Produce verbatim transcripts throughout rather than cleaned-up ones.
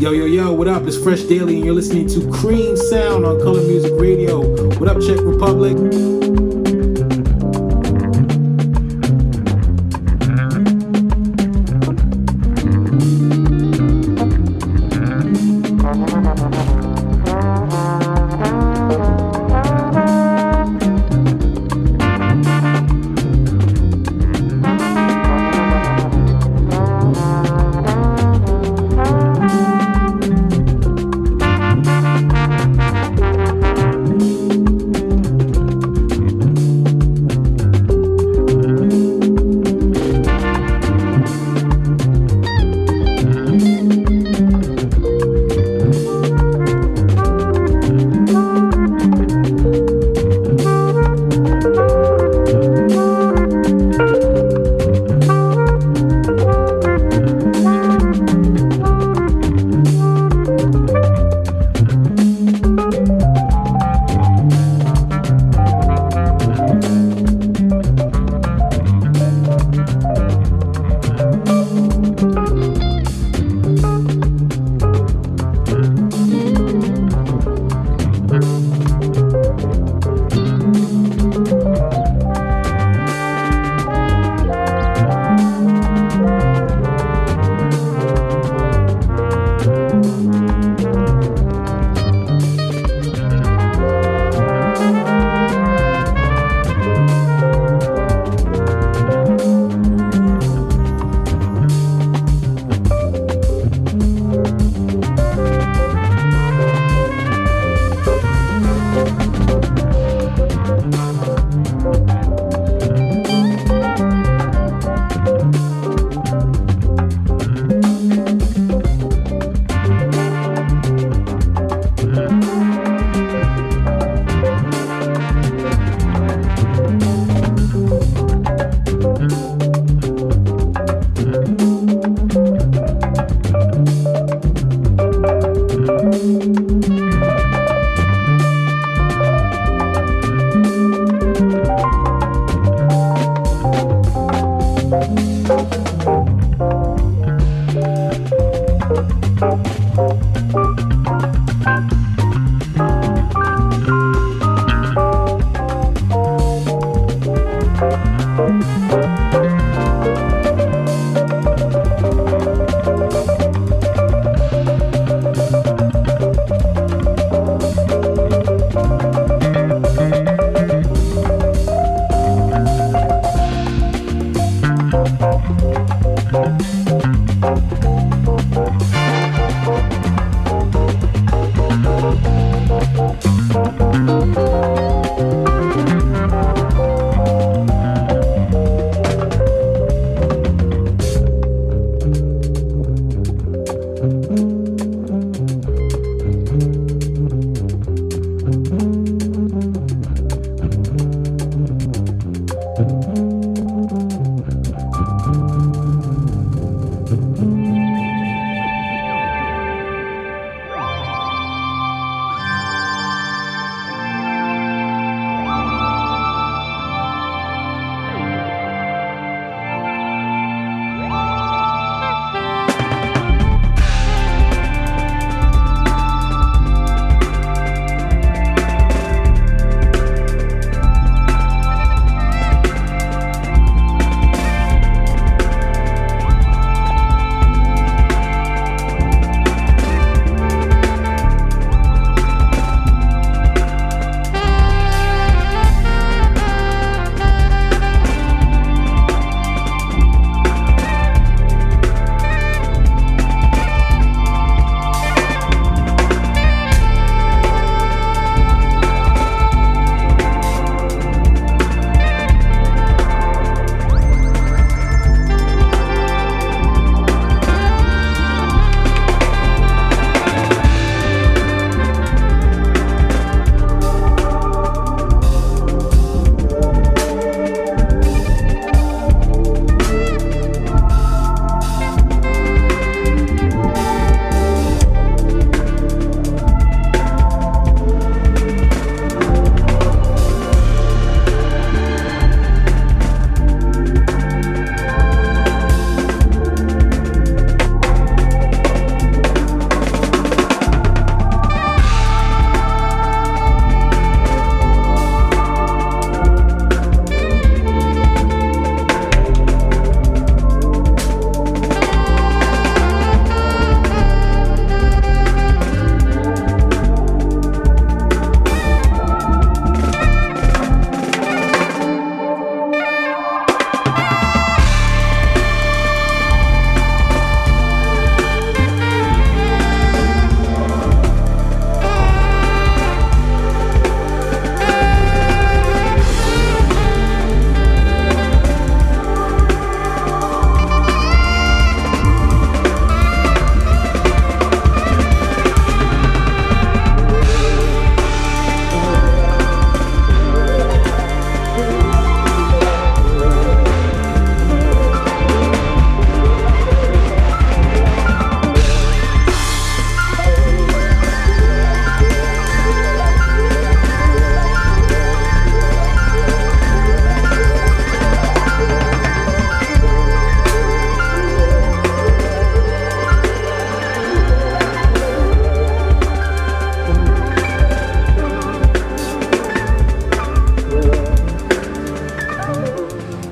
Yo, yo, yo, what up? It's Fresh Daily, and you're listening to Cream Sound on Color Music Radio. What up, Czech Republic?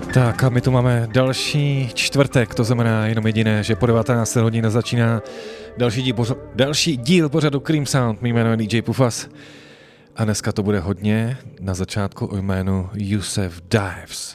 Tak a my tu máme další čtvrtek, to znamená jenom jediné, že po devatenácté hodině začíná další díl, pořadu, další díl pořadu Cream Sound. Mý jméno je D J Pufas a dneska to bude hodně na začátku o jménu Yusef Dives.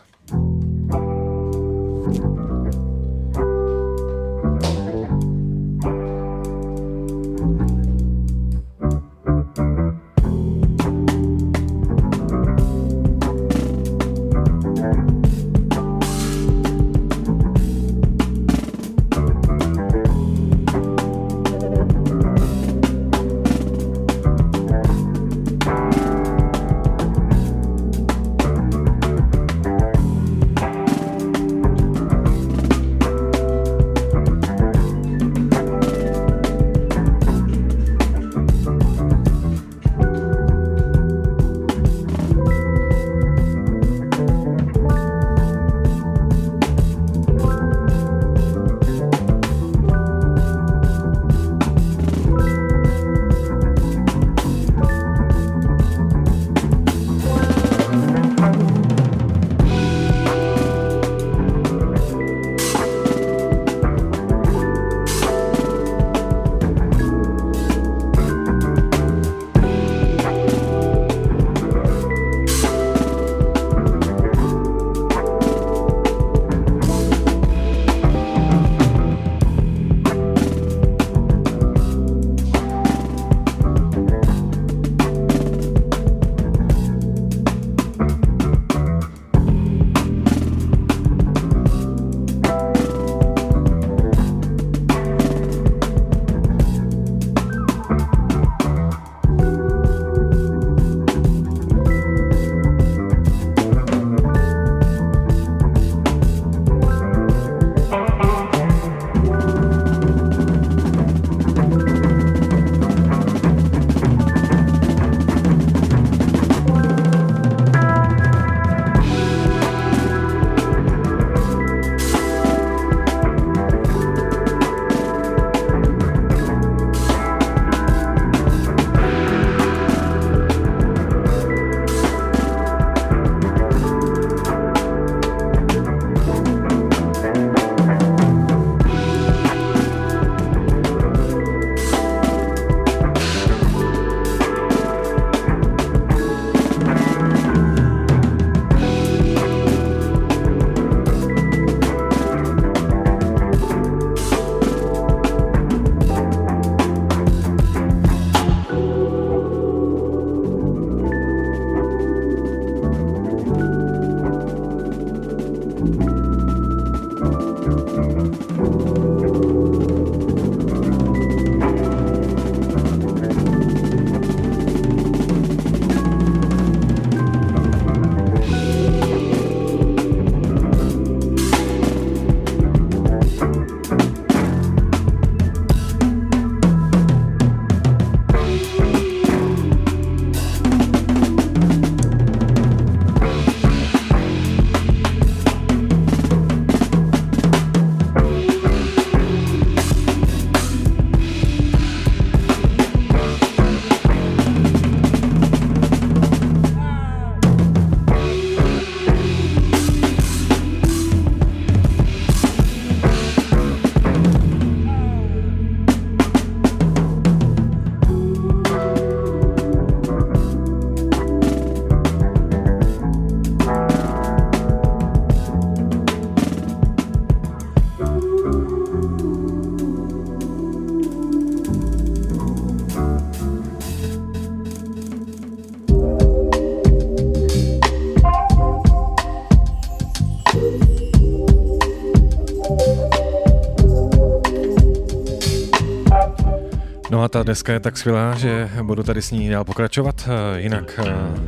No a ta deska je tak skvělá, že budu tady s ní dál pokračovat. Jinak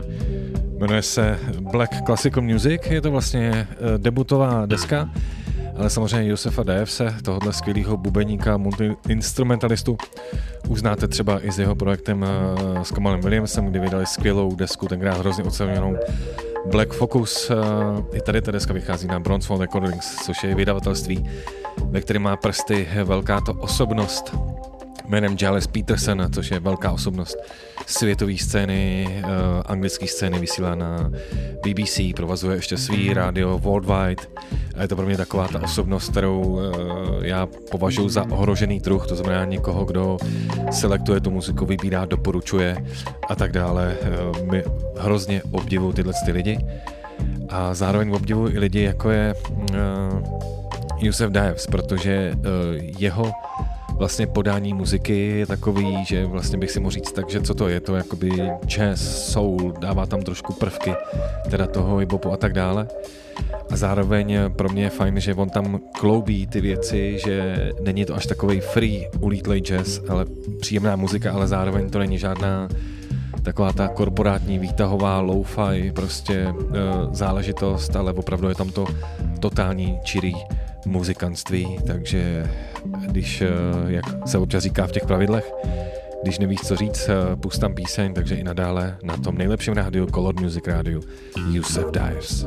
jmenuje se Black Classical Music, je to vlastně debutová deska, ale samozřejmě Yusefa Divese, tohohle skvělého bubeníka, multi-instrumentalistu, už znáte třeba i s jeho projektem s Kamalem Williamsem, kdy vydali skvělou desku, tenkrát hrozně oceněnou Black Focus. I tady ta deska vychází na Bronze Phone Recordings, což je vydavatelství, ve kterém má prsty velká to osobnost jménem Giles Peterson, což je velká osobnost světové scény, uh, anglické scény, vysílá na B B C, provazuje ještě svý rádio Worldwide a je to pro mě taková ta osobnost, kterou uh, já považuji za ohrožený druh, to znamená někoho, kdo selektuje tu muziku, vybírá, doporučuje a tak dále. Uh, my hrozně obdivuju tyhle ty lidi a zároveň obdivuju i lidi, jako je uh, Yusef Dives, protože uh, jeho vlastně podání muziky je takový, že vlastně bych si mohl říct tak, že co to je, to jakoby jazz, soul, dává tam trošku prvky teda toho hip-hopu a tak dále. A zároveň pro mě je fajn, že on tam kloubí ty věci, že není to až takovej free ulítlej jazz, ale příjemná muzika, ale zároveň to není žádná taková ta korporátní výtahová lo-fi prostě e, záležitost, ale opravdu je tam to totální čirý muzikantství, takže když, jak se občas říká v těch pravidlech, když nevíš, co říct, pust tam píseň, takže i nadále na tom nejlepším rádiu, Color Music rádiu, Yusef Dives.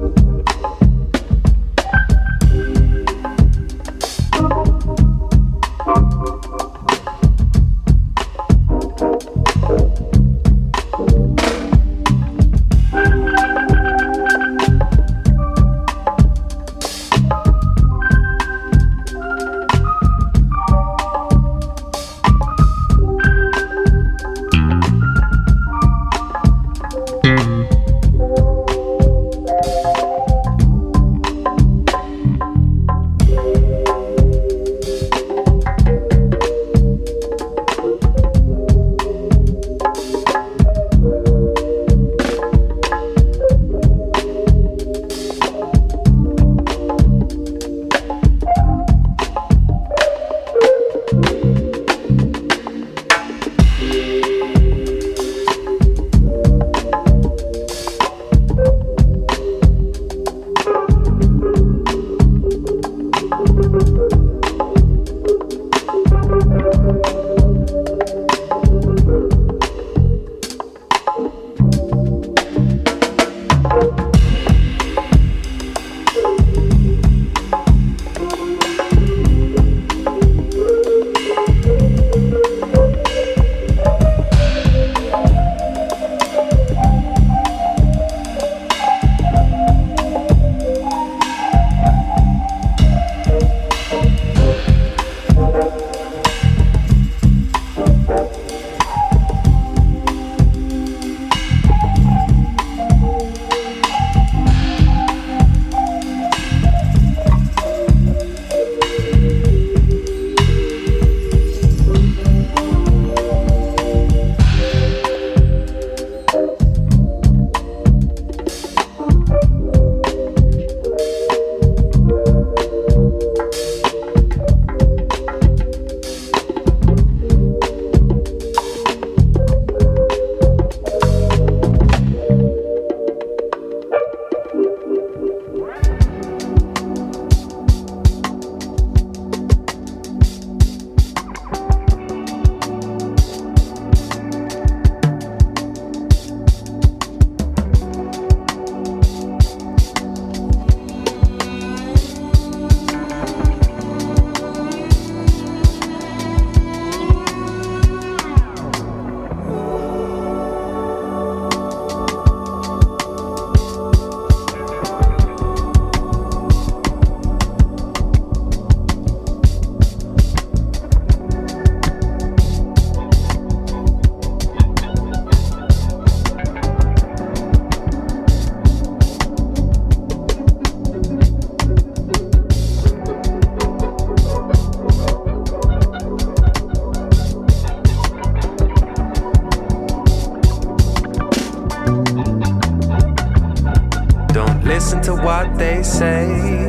listen to what they say.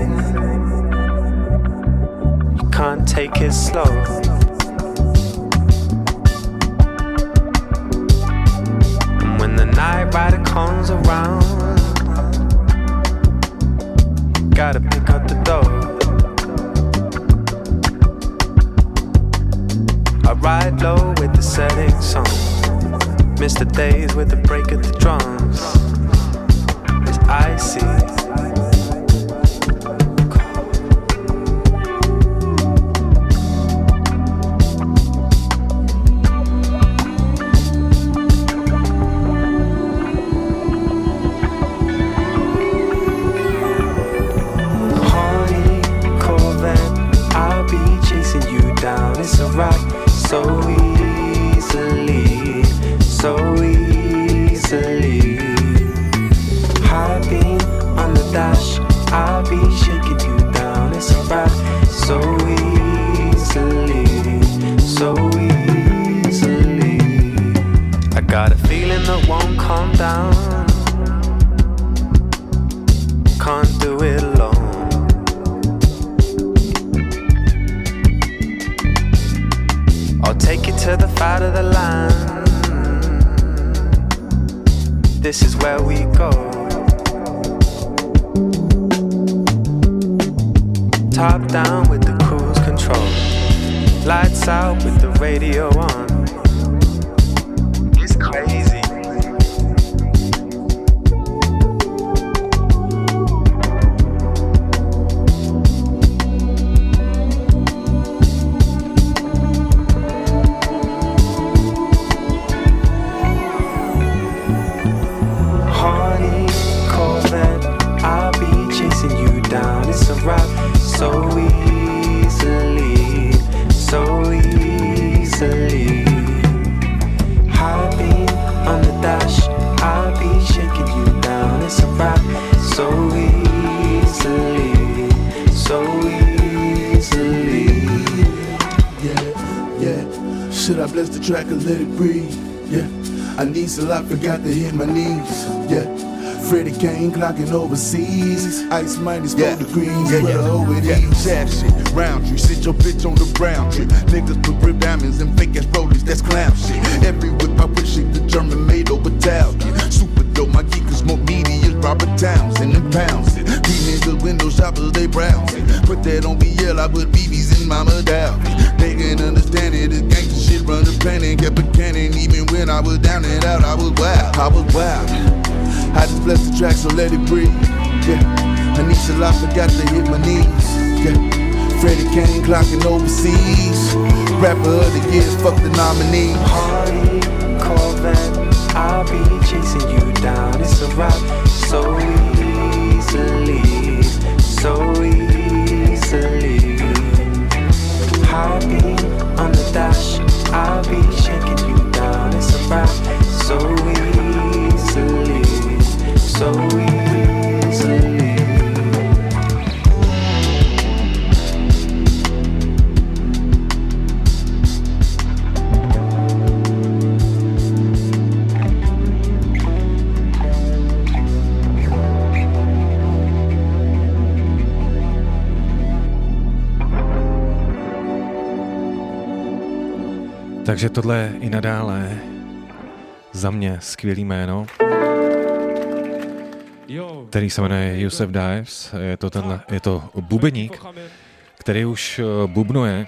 You can't take it slow. And when the night rider comes around, you gotta pick up the dough. I ride low with the setting sun, miss the days with the break of the drums. It's icy. so easily. High beam on the dash, I'll be shaking you down. It's alright, so easily, so easily. I got a feeling that won't calm down. Can't do it alone. I'll take you to the fight of the land. This is where we go. Top down with the cruise control. Lights out with the radio on. It's crazy. So easily, so easily. High beam on the dash, I'll be shaking you down. It's a wrap. So easily, so easily. Yeah, yeah. Should I bless the track or let it breathe? Yeah. I need so I forgot to hit my knees. Yeah. Freddie Kane clocking overseas. Ice minus four yeah. degrees. Yeah, yeah, over yeah. These. Sad shit, round tree. Sit your bitch on the brown tree. Niggas put rib diamonds and fake ass rollies. That's clown shit. Every whip I wish it the German made over Italian. Super dope, my geekers more meaty as Robert Townsend and pounds it. These niggas window shoppers, they browse it. Put that on B L, I put B Bs in Mama Dow. They can understand it. This gangsta shit run the planet. Kept a cannon even when I was down and out. I was wild, I was wild. I just bless the track, so let it breathe. Yeah, Anisha La forgot to hit my knees. Yeah, Freddie Kane clocking overseas. Rapper of the year, fuck the nominee. Harley, Corvette, I'll be chasing you down. It's a wrap. So easily, so easily. High beam on the dash, I'll be shaking you down. It's a wrap. So easily, so easily. Takže tohle je i nadále za mě skvělý jméno, který se jmenuje Yusef Dives. Je to, tenhle, je to bubeník, který už bubnuje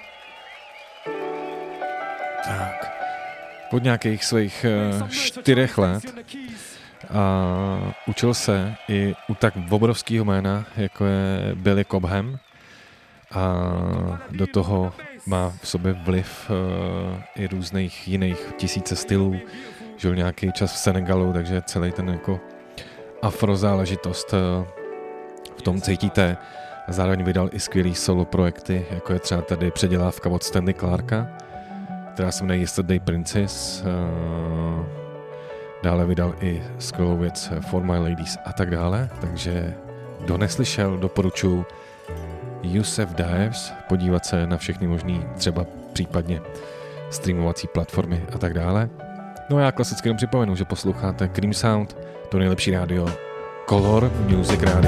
tak, pod nějakých svých čtyřech let a učil se i u tak obrovského jména, jako je Billy Cobham, a do toho má v sobě vliv uh, i různých jiných tisíce stylů. Žil nějaký čas v Senegalu, takže celý ten jako afrozáležitost uh, v tom cítíte. A zároveň vydal i skvělý solo projekty, jako je třeba tady předělávka od Stanley Clarka, která se jmenuje Yesterday Princess. Uh, dále vydal i skvělou věc For My Ladies a tak dále. Takže kdo neslyšel, doporučuji Yusef Dives, podívat se na všechny možný, třeba případně streamovací platformy a tak dále. No a já klasicky jenom připomenu, že posloucháte Cream Sound, to nejlepší rádio, Color Music Radio.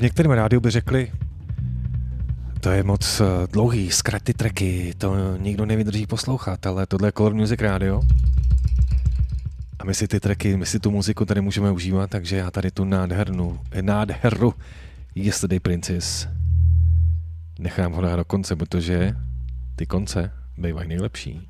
některém rádiu by řekli, to je moc dlouhý, zkrať ty tracky, to nikdo nevydrží poslouchat, ale tohle je Color Music Radio. A my si ty tracky, my si tu muziku tady můžeme užívat, takže já tady tu nádhernou, nádheru Yesterday Princess nechám ho dát do konce, protože ty konce bývají nejlepší.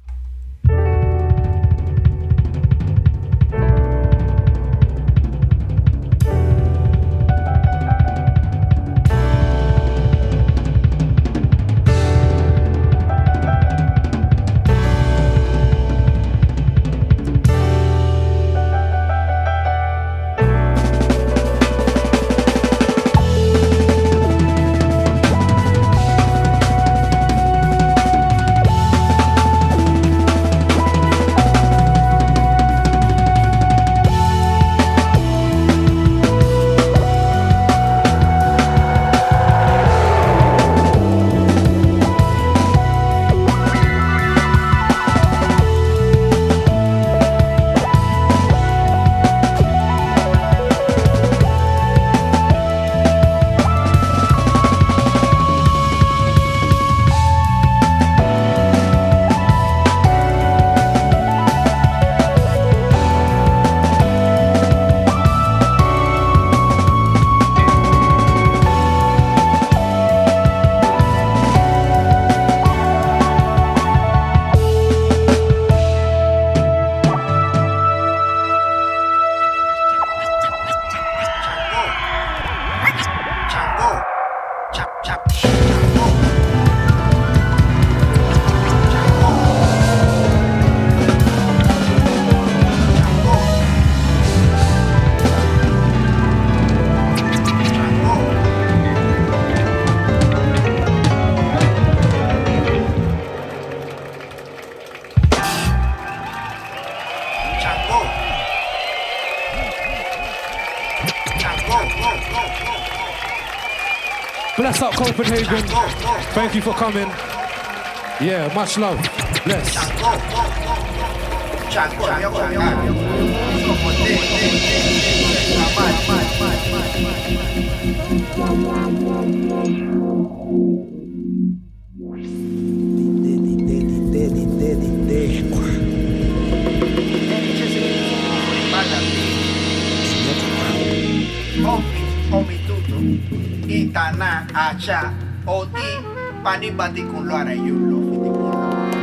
Bless up Copenhagen. Thank you for coming. Yeah, much love. Bless. Itana acha oti panibati kun lo arayulo fitipulo.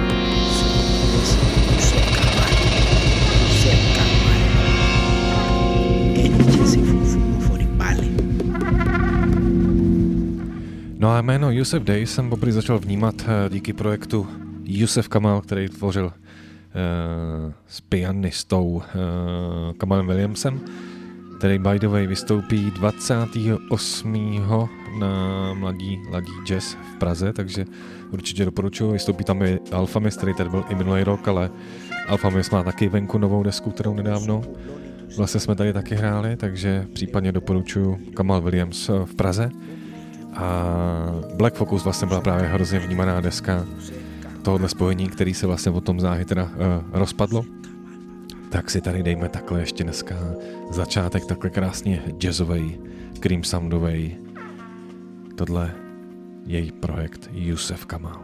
No a jméno Yusef Day jsem poprvé začal vnímat díky projektu Yusef Kamal, který tvořil uh, s pianistou uh, Kamalem Williamsem, který by the way vystoupí dvacátého osmého na Mladí, Mladí jazz v Praze, takže určitě doporučuji. Vystoupí tam i Alphamist, který tady byl i minulý rok, ale Alphamist má taky venku novou desku, kterou nedávno vlastně jsme tady taky hráli, takže případně doporučuji Kamal Williams v Praze. A Black Focus vlastně byla právě hrozně vnímaná deska tohohle spojení, který se vlastně potom záhy teda uh, rozpadlo. Tak si tady dejme takhle ještě dneska začátek takhle krásně jazzovej, cream soundovej. Tohle je její projekt Yusef Kamal.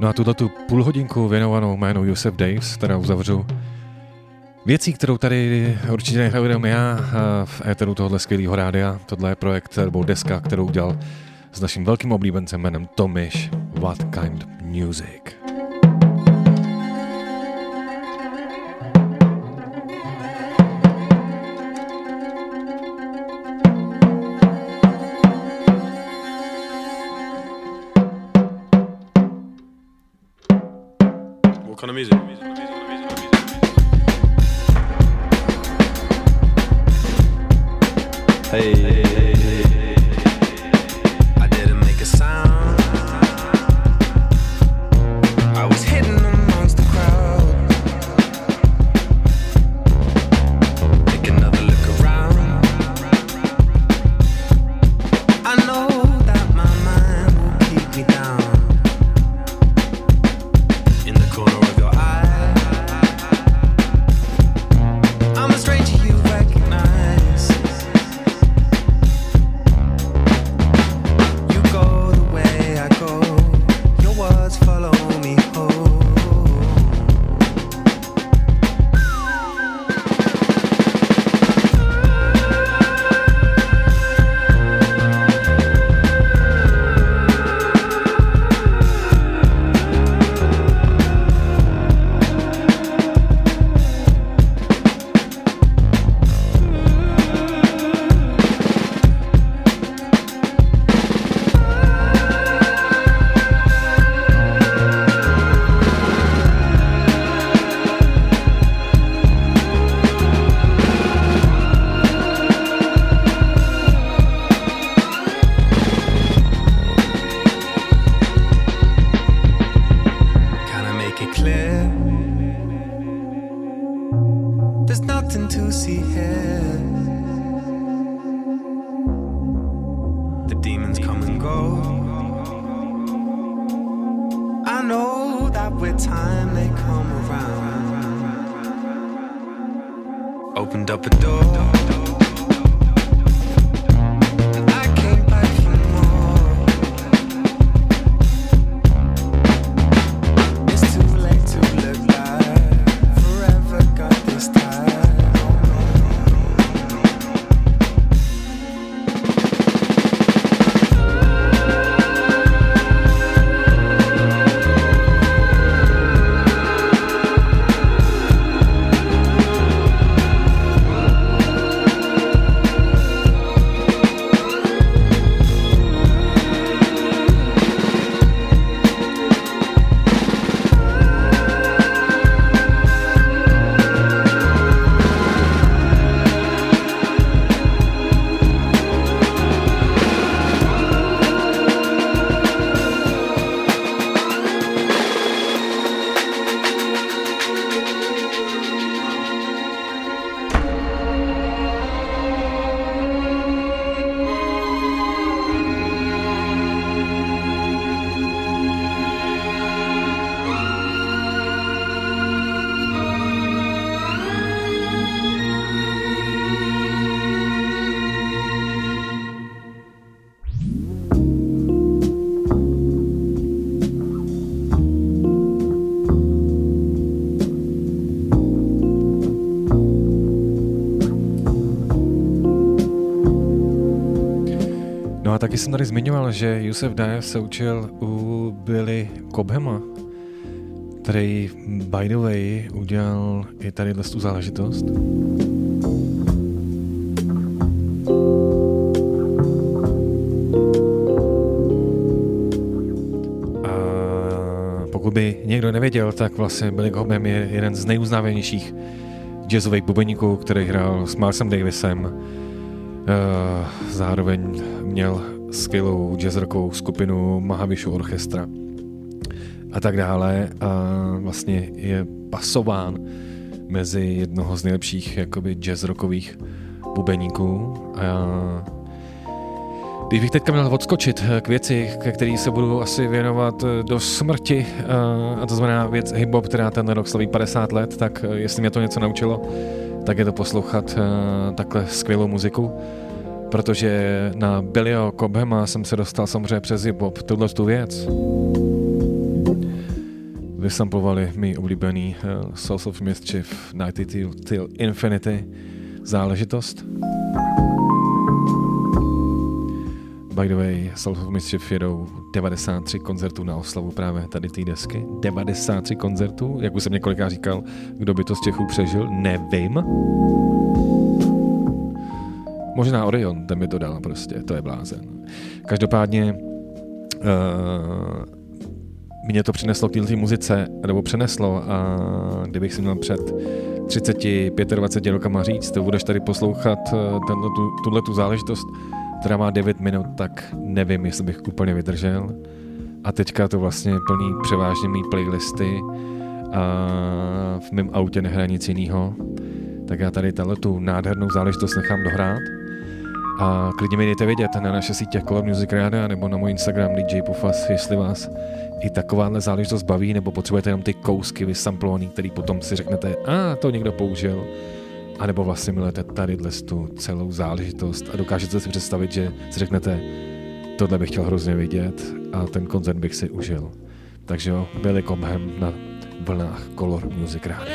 No a tuto tu půl hodinku věnovanou jménu Yusef Daves, teda uzavřu věcí, kterou tady určitě nehraju jenom já v éteru tohohle skvělého rádia. Tohle je projekt nebo deska, kterou udělal s naším velkým oblíbencem jménem Tomish. What Kind Music. What kind of music? Hey, hey, hey, hey, I didn't make a sound. I was hidden amongst the crowd. Take another look around. I know that my mind will keep me down. In the corner of your eye, I'm a stranger you recognize. You go the way I go, your words follow me home. Can I make it clear? There's nothing to see here. The demons come and go. I know that with time they come around. Opened up a door. And I came back for more. It's too late to look back. Forever got this time. No a taky jsem tady zmiňoval, že Yusef Daves se učil u Billy Cobhama, který by the way udělal i tady tu záležitost. A pokud by někdo nevěděl, tak vlastně Billy Cobham je jeden z nejuznávanějších jazzových bubeníků, který hrál s Milesem Davisem. Uh, zároveň měl skvělou jazzrockovou skupinu Mahavishnu Orchestra a tak dále a vlastně je pasován mezi jednoho z nejlepších jakoby jazzrockových bubeníků. A když bych teďka měl odskočit k věci, ke který se budu asi věnovat do smrti, a to znamená věc hip-hop, která ten rok slaví padesát let, tak jestli mě to něco naučilo, tak je to poslouchat takhle skvělou muziku, protože na Billyho Cobhama jsem se dostal samozřejmě přes hip-hop, tuhle tu věc. vysamplovali mý oblíbený uh, Souls of Mischief Nighty Till, Till Infinity záležitost. By the way, Souls of Mischief jedou devadesát tři koncertů na oslavu právě tady té desky. devadesát tři koncertů, jak už jsem několikrát říkal, kdo by to z Čechů přežil, nevím. Možná Orion, ten by to dal prostě, to je blázen. Každopádně uh, mě to přineslo k této muzice, nebo přeneslo a kdybych si měl před třicet dvacet pět rokama říct, to budeš tady poslouchat tuhle tu záležitost, která má devět minut, tak nevím, jestli bych úplně vydržel. A teďka to vlastně plní převážně mý playlisty a v mém autě nehraje nic jinýho. Tak já tady tu nádhernou záležitost nechám dohrát. A klidně mi dejte vědět na naše sítě Color Music Radio nebo na můj Instagram D J Pufas, jestli vás i takováhle záležitost baví, nebo potřebujete jenom ty kousky vysamplovaný, který potom si řeknete, a ah, to někdo použil. A nebo vlastně milujete tady tu celou záležitost a dokážete si představit, že si řeknete, tohle bych chtěl hrozně vidět a ten koncert bych si užil. Takže jo, Billy Cobham na vlnách Color Music Radio.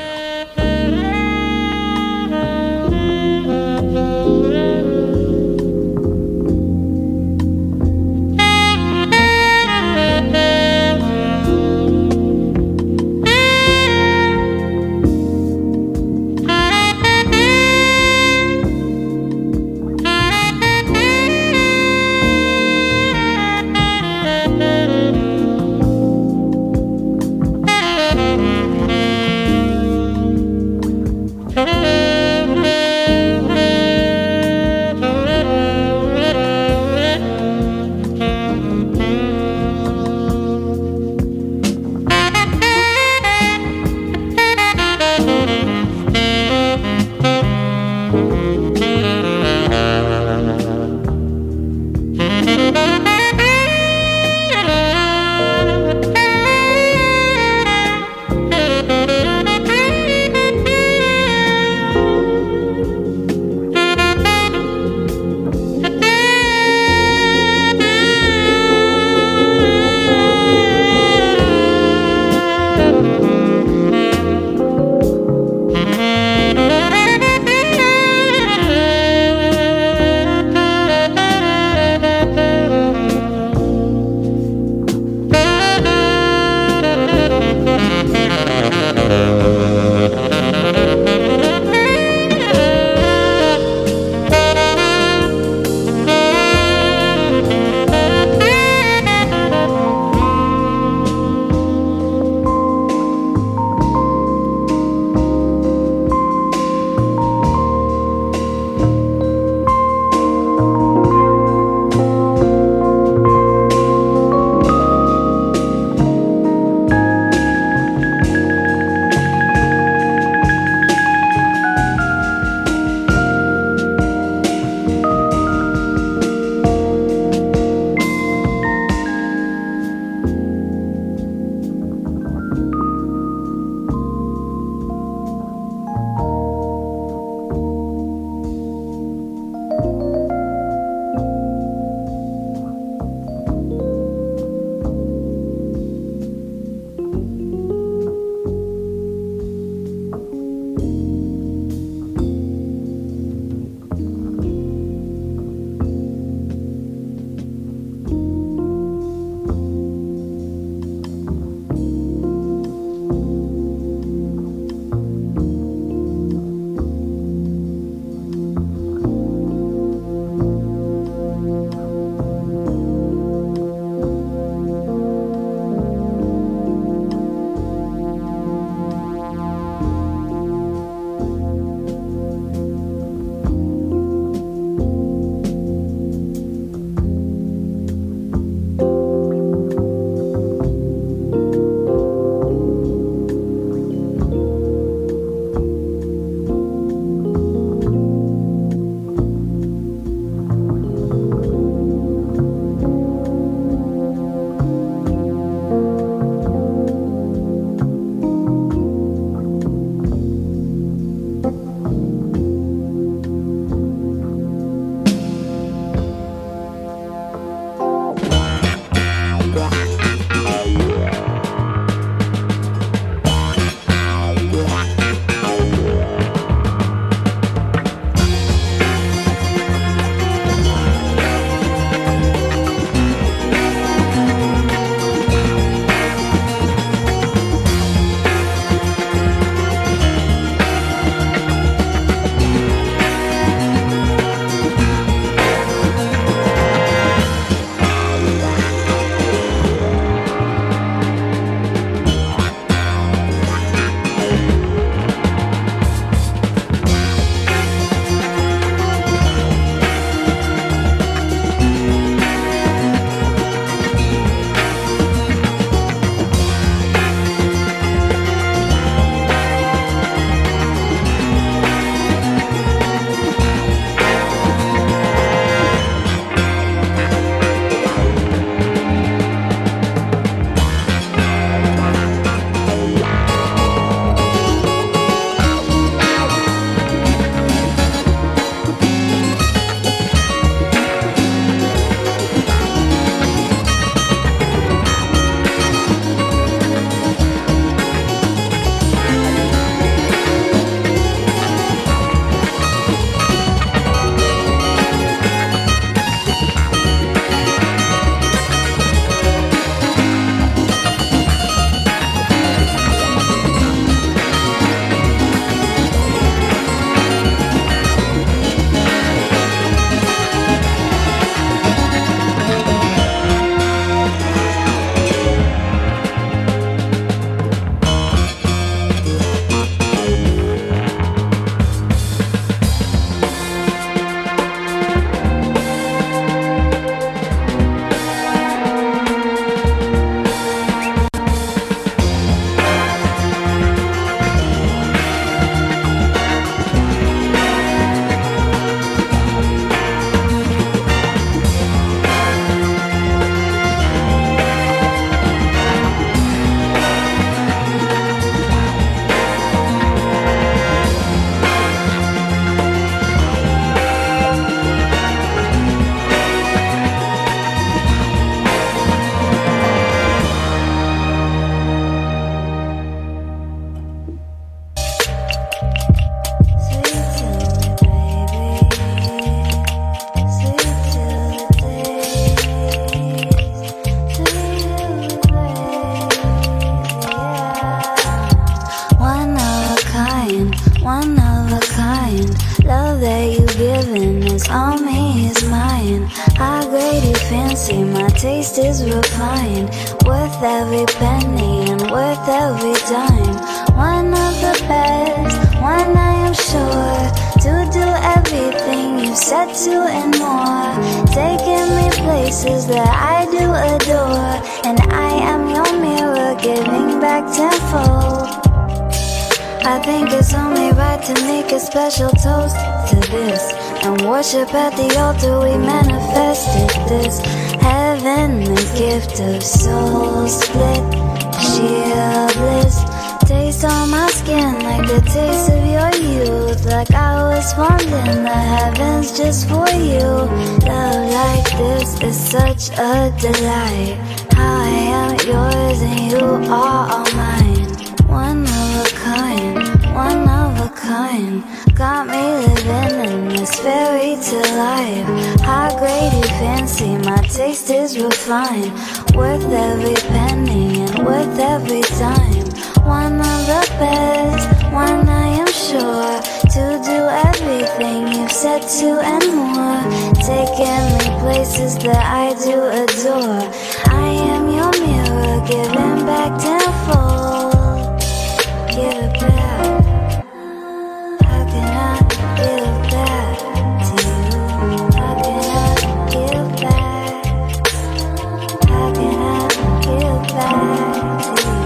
Everything's on me is mine. How great you fancy, my taste is refined. Worth every penny and worth every dime. One of the best, one I am sure. To do everything you've said to and more. Taking me places that I do adore. And I am your mirror, giving back tenfold. I think it's only right to make a special toast to this. And worship at the altar we manifested this. Heaven, the gift of soul split, sheer bliss. Taste on my skin like the taste of your youth. Like I was formed in the heavens just for you. Love like this is such a delight. How I am yours and you are all mine. One of a kind, one of a kind. Got me living in this fairy tale life. How great you fancy, my taste is refined. Worth every penny and worth every dime. One of the best, one I am sure. To do everything you've said to and more. Taking me places that I do adore. I am your mirror, giving back tenfold. Give it back. How can I give back to you? How can I give back? How can I give back to you?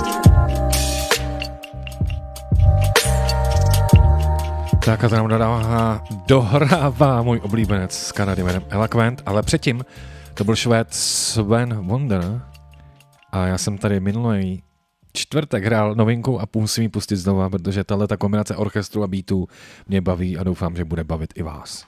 Tak a to nám dodává, dohrává můj oblíbenec z Kanady jménem Eloquent, ale předtím to byl Švéd Sven Wonder a já jsem tady minulý čtvrtek hrál novinku a musím ji pustit znova, protože tato kombinace orchestru a beatů mě baví a doufám, že bude bavit i vás.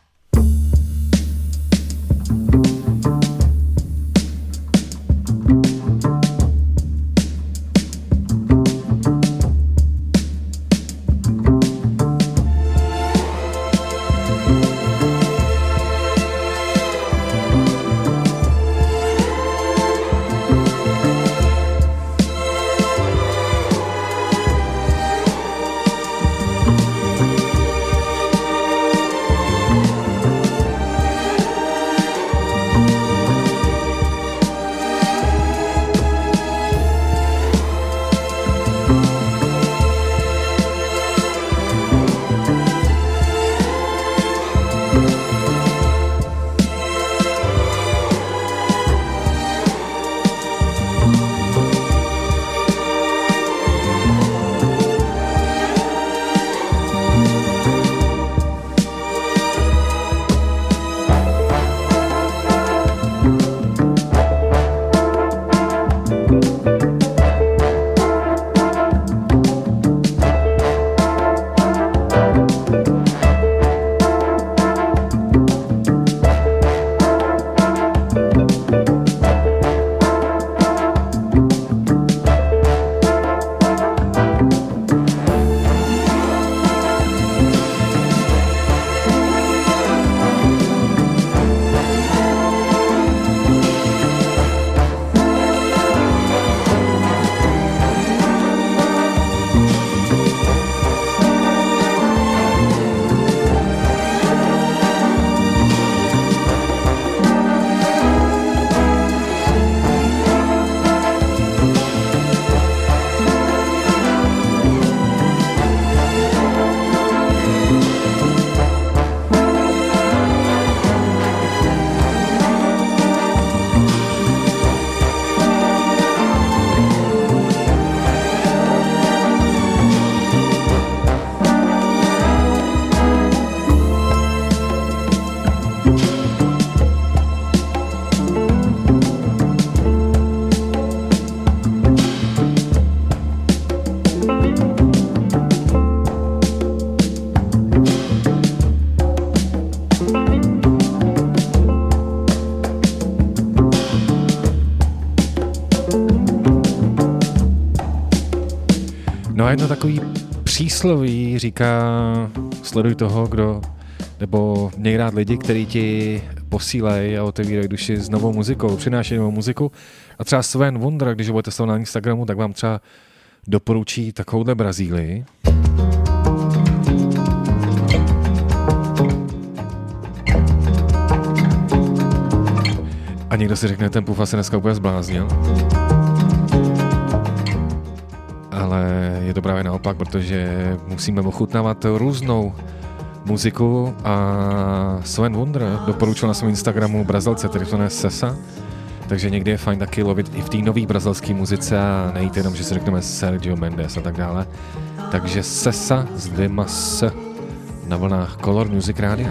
No a jedno takový přísloví říká, sleduj toho, kdo, nebo měj rád lidi, kteří ti posílají a otevírají duši s novou muzikou, přinášejí novou muziku. A třeba Sven Wonder, když ho budete sledovat na Instagramu, tak vám třeba doporučí takovouhle Brazílii. A někdo si řekne, ten Pufa se dneska úplně zbláznil. Ale je to právě naopak, protože musíme ochutnávat různou muziku a Sven Wonder doporučil na svém Instagramu Brazilce, který se jmenuje Sessa. Takže někdy je fajn taky lovit i v té nový brazilské muzice a nejít jenom, že si řekneme Sergio Mendes a tak dále. Takže Sessa s dvěma S na vlnách Color Music Rádia.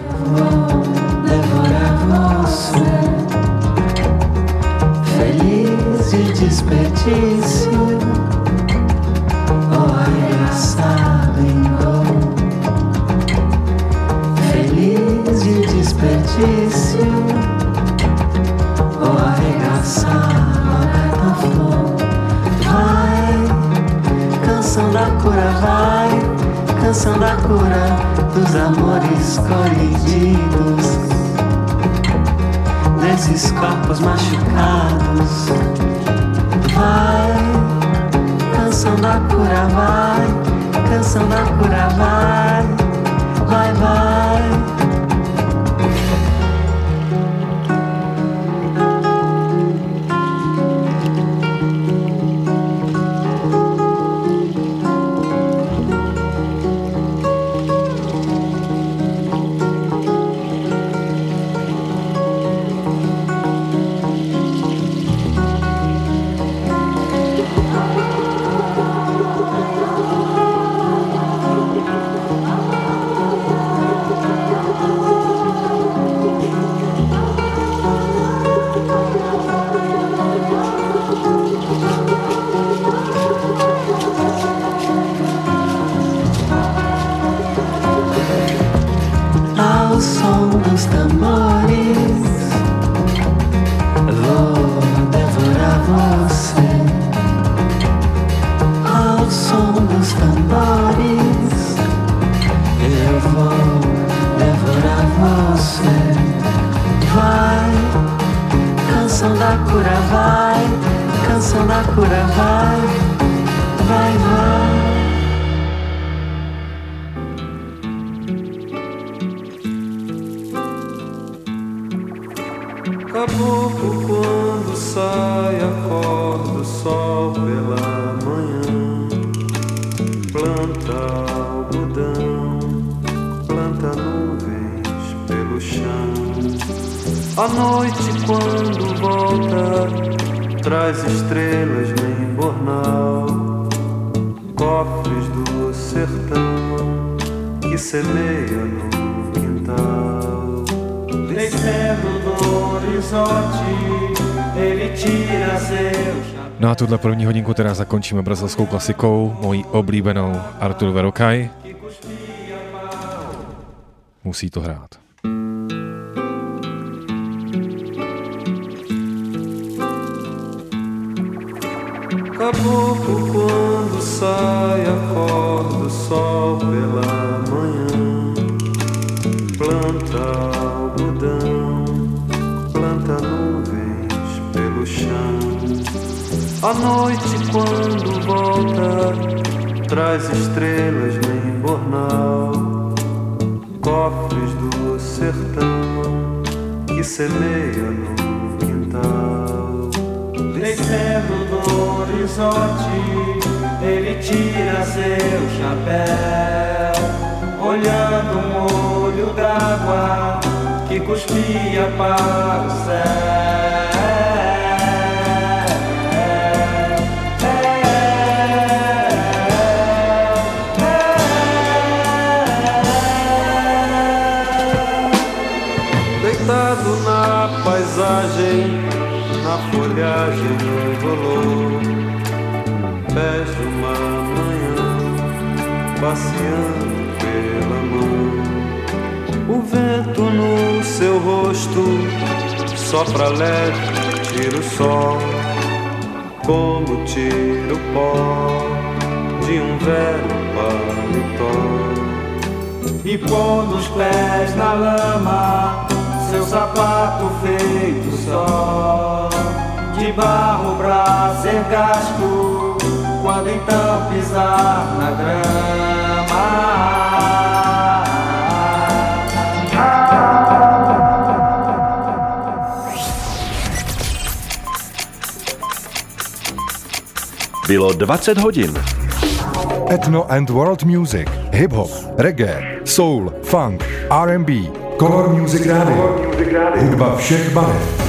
Feliz de desperdício, oh arregaçado em gol. Feliz de desperdício, oh arregaçado a gaita flor. Vai, canção da cura, vai, canção da cura dos amores colididos, desses corpos machucados. Vai, canção da cura, vai, canção da cura, vai, vai, vai. No a tuhle první hodinku teda zakončíme brazilskou klasikou, mojí oblíbenou Artur Verocai. Musí to hrát. Caboclo, quando sai, acorda o sol pela manhã. Planta algodão, planta nuvens pelo chão. A noite quando volta, traz estrelas no embornal. Cofres do sertão que semeia no quintal. Descendo do horizonte, ele tira seu chapéu, olhando um olho d'água que cuspia para o céu. Deitado na paisagem, na folhagem no bolor, pés de uma manhã, passeando pela mão. O vento no seu rosto sopra leve, tira o sol, como tira o pó de um velho paletó. E pondo os pés na lama, seu sapato feito só, de barro pra ser gasto, quando então pisar na grama. Bylo dvacet hodin. Ethno and world music, hip-hop, reggae, soul, funk, R and B, Color Music Radio, hudba všech barev.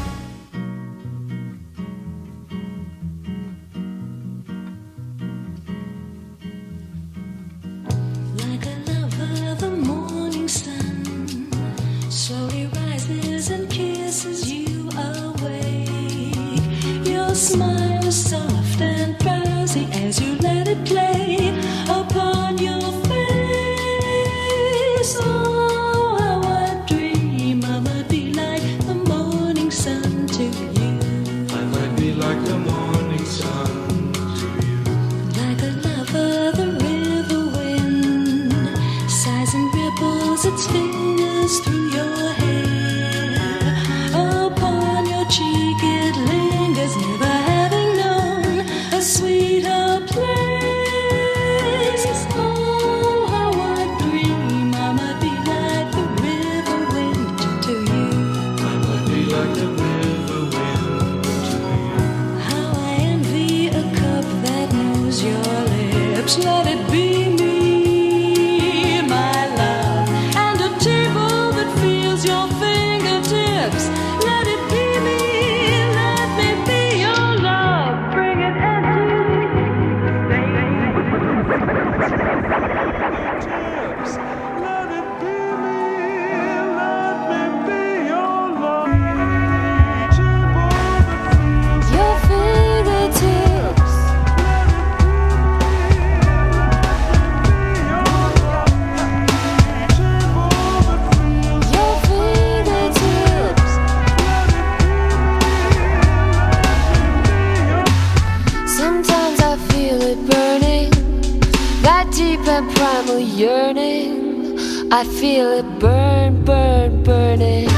I feel it burn, burn, burning.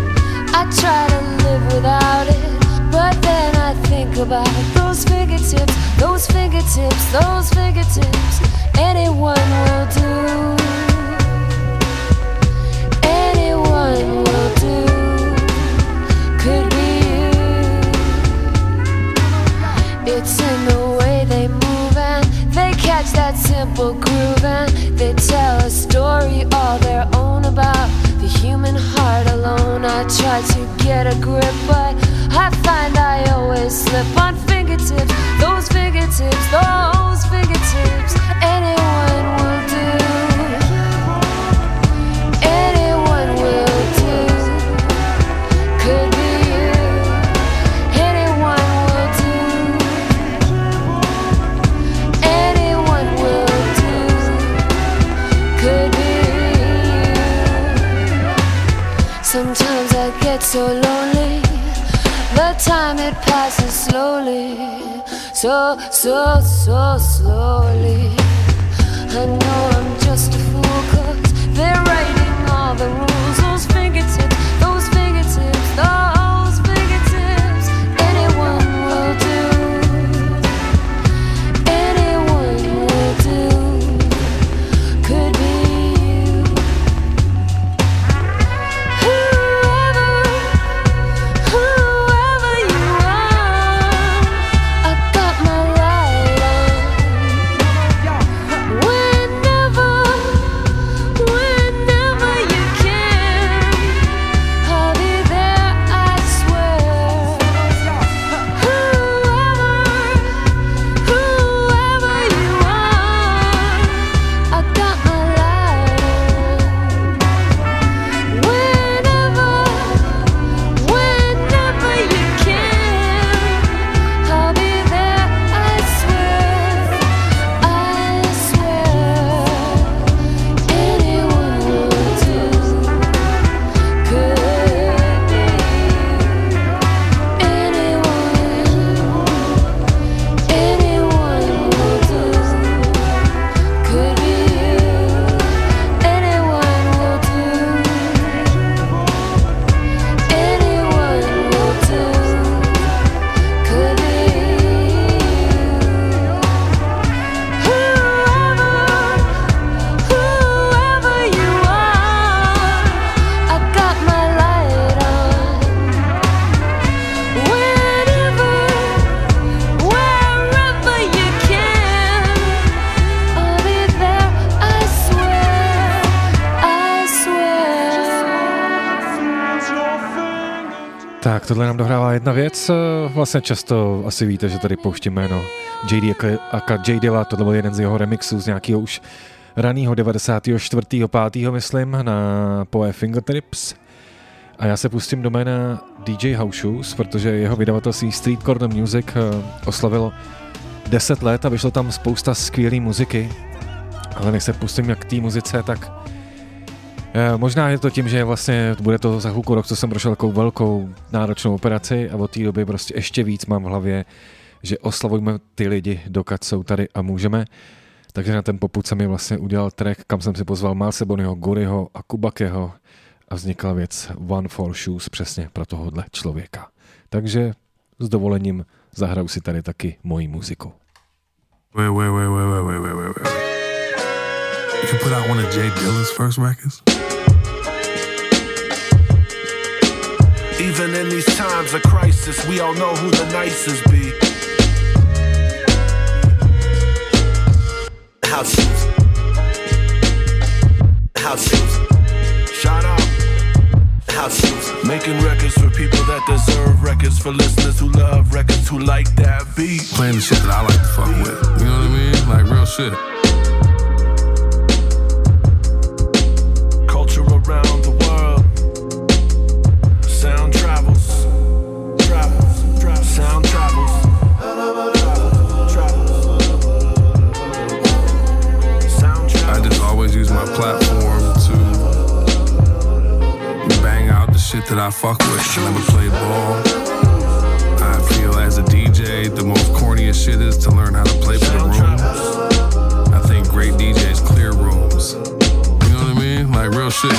I try to live without it, but then I think about those fingertips, those fingertips, those fingertips. Anyone will do. Anyone will do. Could be you. It's in the way they move and they catch that simple groove and they tell a story all their own about the human heart alone. I try to get a grip, but I find I always slip on fingertips, those fingertips, those fingertips. Anyone will do. Anyone will do. Could be you. Anyone will do. Anyone will do. Could be you. Sometimes I get so lonely, the time it passes slowly, so, so, so slowly. I know I'm just a fool, cause they're writing all the rules. Those fingertips, those fingertips, those fingertips. Anyone will do. Anyone will do. Could be you. Whoever, whoever you are, I got my light on. Whenever, whenever you can, Tak, tohle nám dohrává jedna věc. Vlastně často asi víte, že tady pouštím jméno J D aka J Dilla, tohle byl jeden z jeho remixů z nějakého už ranýho devadesátého čtvrtého pátého myslím, na Poe Fingertips. A já se pustím do jména D J House Shoes, protože jeho vydavatelství Street Corner Music oslavilo deset let a vyšlo tam spousta skvělé muziky. Ale než se pustím jak k té muzice, tak možná je to tím, že vlastně bude to za chvilku rok, co jsem prošel takovou velkou náročnou operaci a od té doby prostě ještě víc mám v hlavě, že oslavujeme ty lidi, dokud jsou tady a můžeme. Takže na ten popud jsem mi vlastně udělal track, kam jsem si pozval Malsebonyho, Goryho a Kubakeho a vznikla věc One for Shoes přesně pro tohohle člověka. Takže s dovolením zahraju si tady taky moji muziku. Wait, wait, wait, wait, wait, wait, wait, wait, wait. You can put out one of J Dilla's first records? Even in these times of crisis, we all know who the nicest be. House shoes. House shoes. Shout out. House shoes. Making records for people that deserve records, for listeners who love records, who like that beat. Playing the shit that I like to fuck with. You know what I mean? Like real shit. Culture around the world. Sound travels. Travels. Travels. Sound travels. I just always use my platform to bang out the shit that I fuck with. I never played ball. I feel as a D J, the most corniest shit is to learn how to play for the rooms. I think great D Js clear rooms. You know what I mean? Like real shit.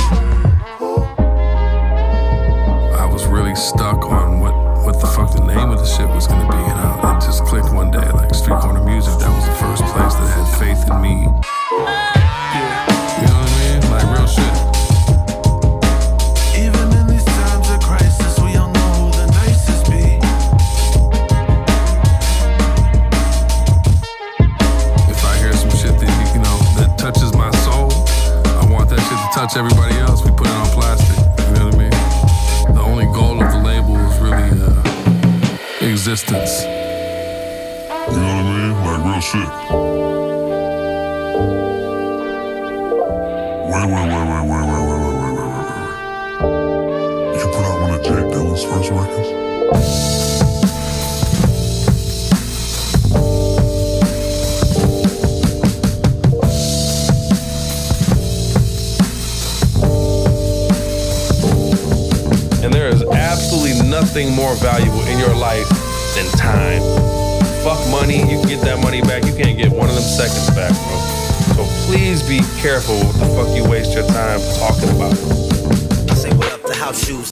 I was really stuck on what, what the fuck the name of the shit was gonna be, and I, it just clicked one day, like Street Corner Music. That was the first place that had faith in me. Touch everybody else, we put it on plastic. You know what I mean? The only goal of the label is really uh, existence. You know what I mean? Like real shit. Wait, wait, wait, wait, wait, wait, wait, wait, wait, wait, wait. You can put out one of Jake Dilla's first records? Nothing more valuable in your life than time. Fuck money, you can get that money back. You can't get one of them seconds back, bro. So please be careful what the fuck you waste your time talking about. Say what up to House Shoes.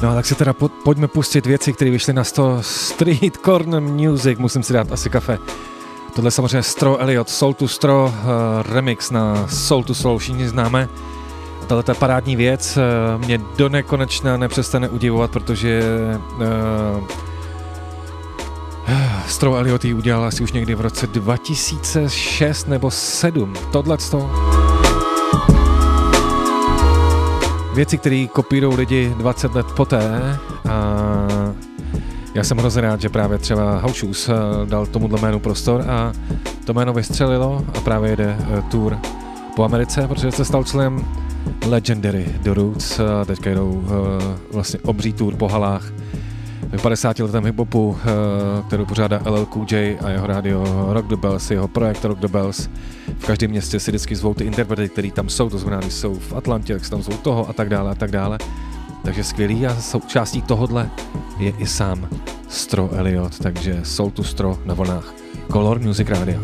No tak si teda po, pojďme pustit věci, které vyšly na sto Street Corner Music, musím si dát asi kafe. Tohle samozřejmě Stro Elliot, Soul to Stro, uh, remix na Soul to Soul, všichni známe. Tahle ta parádní věc uh, mě do nekonečna nepřestane udivovat, protože uh, Stro Elliot ji udělal asi už někdy v roce dva tisíce šest nebo sedm. Tohleto. Věci, které kopírují lidi dvacet let poté, a já jsem hrozně rád, že právě třeba House Shoes dal tomuhle jménu prostor a to jméno vystřelilo a právě jede tour po Americe, protože se stal členem Legendary The Roots a teďka jdou vlastně obří tour po halách v padesáti letém hiphopu, kterou pořádá L L Cool J a jeho rádio Rock the Bells, jeho projekt Rock the Bells. V každém městě si vždycky zvou ty interprety, který tam jsou, to znamená, když jsou v Atlantě, tak se tam zvou toho a tak dále a tak dále. Takže skvělý a součástí tohodle je i sám Stro Elliot, takže Soul to Stro na vlnách Color Music Radio.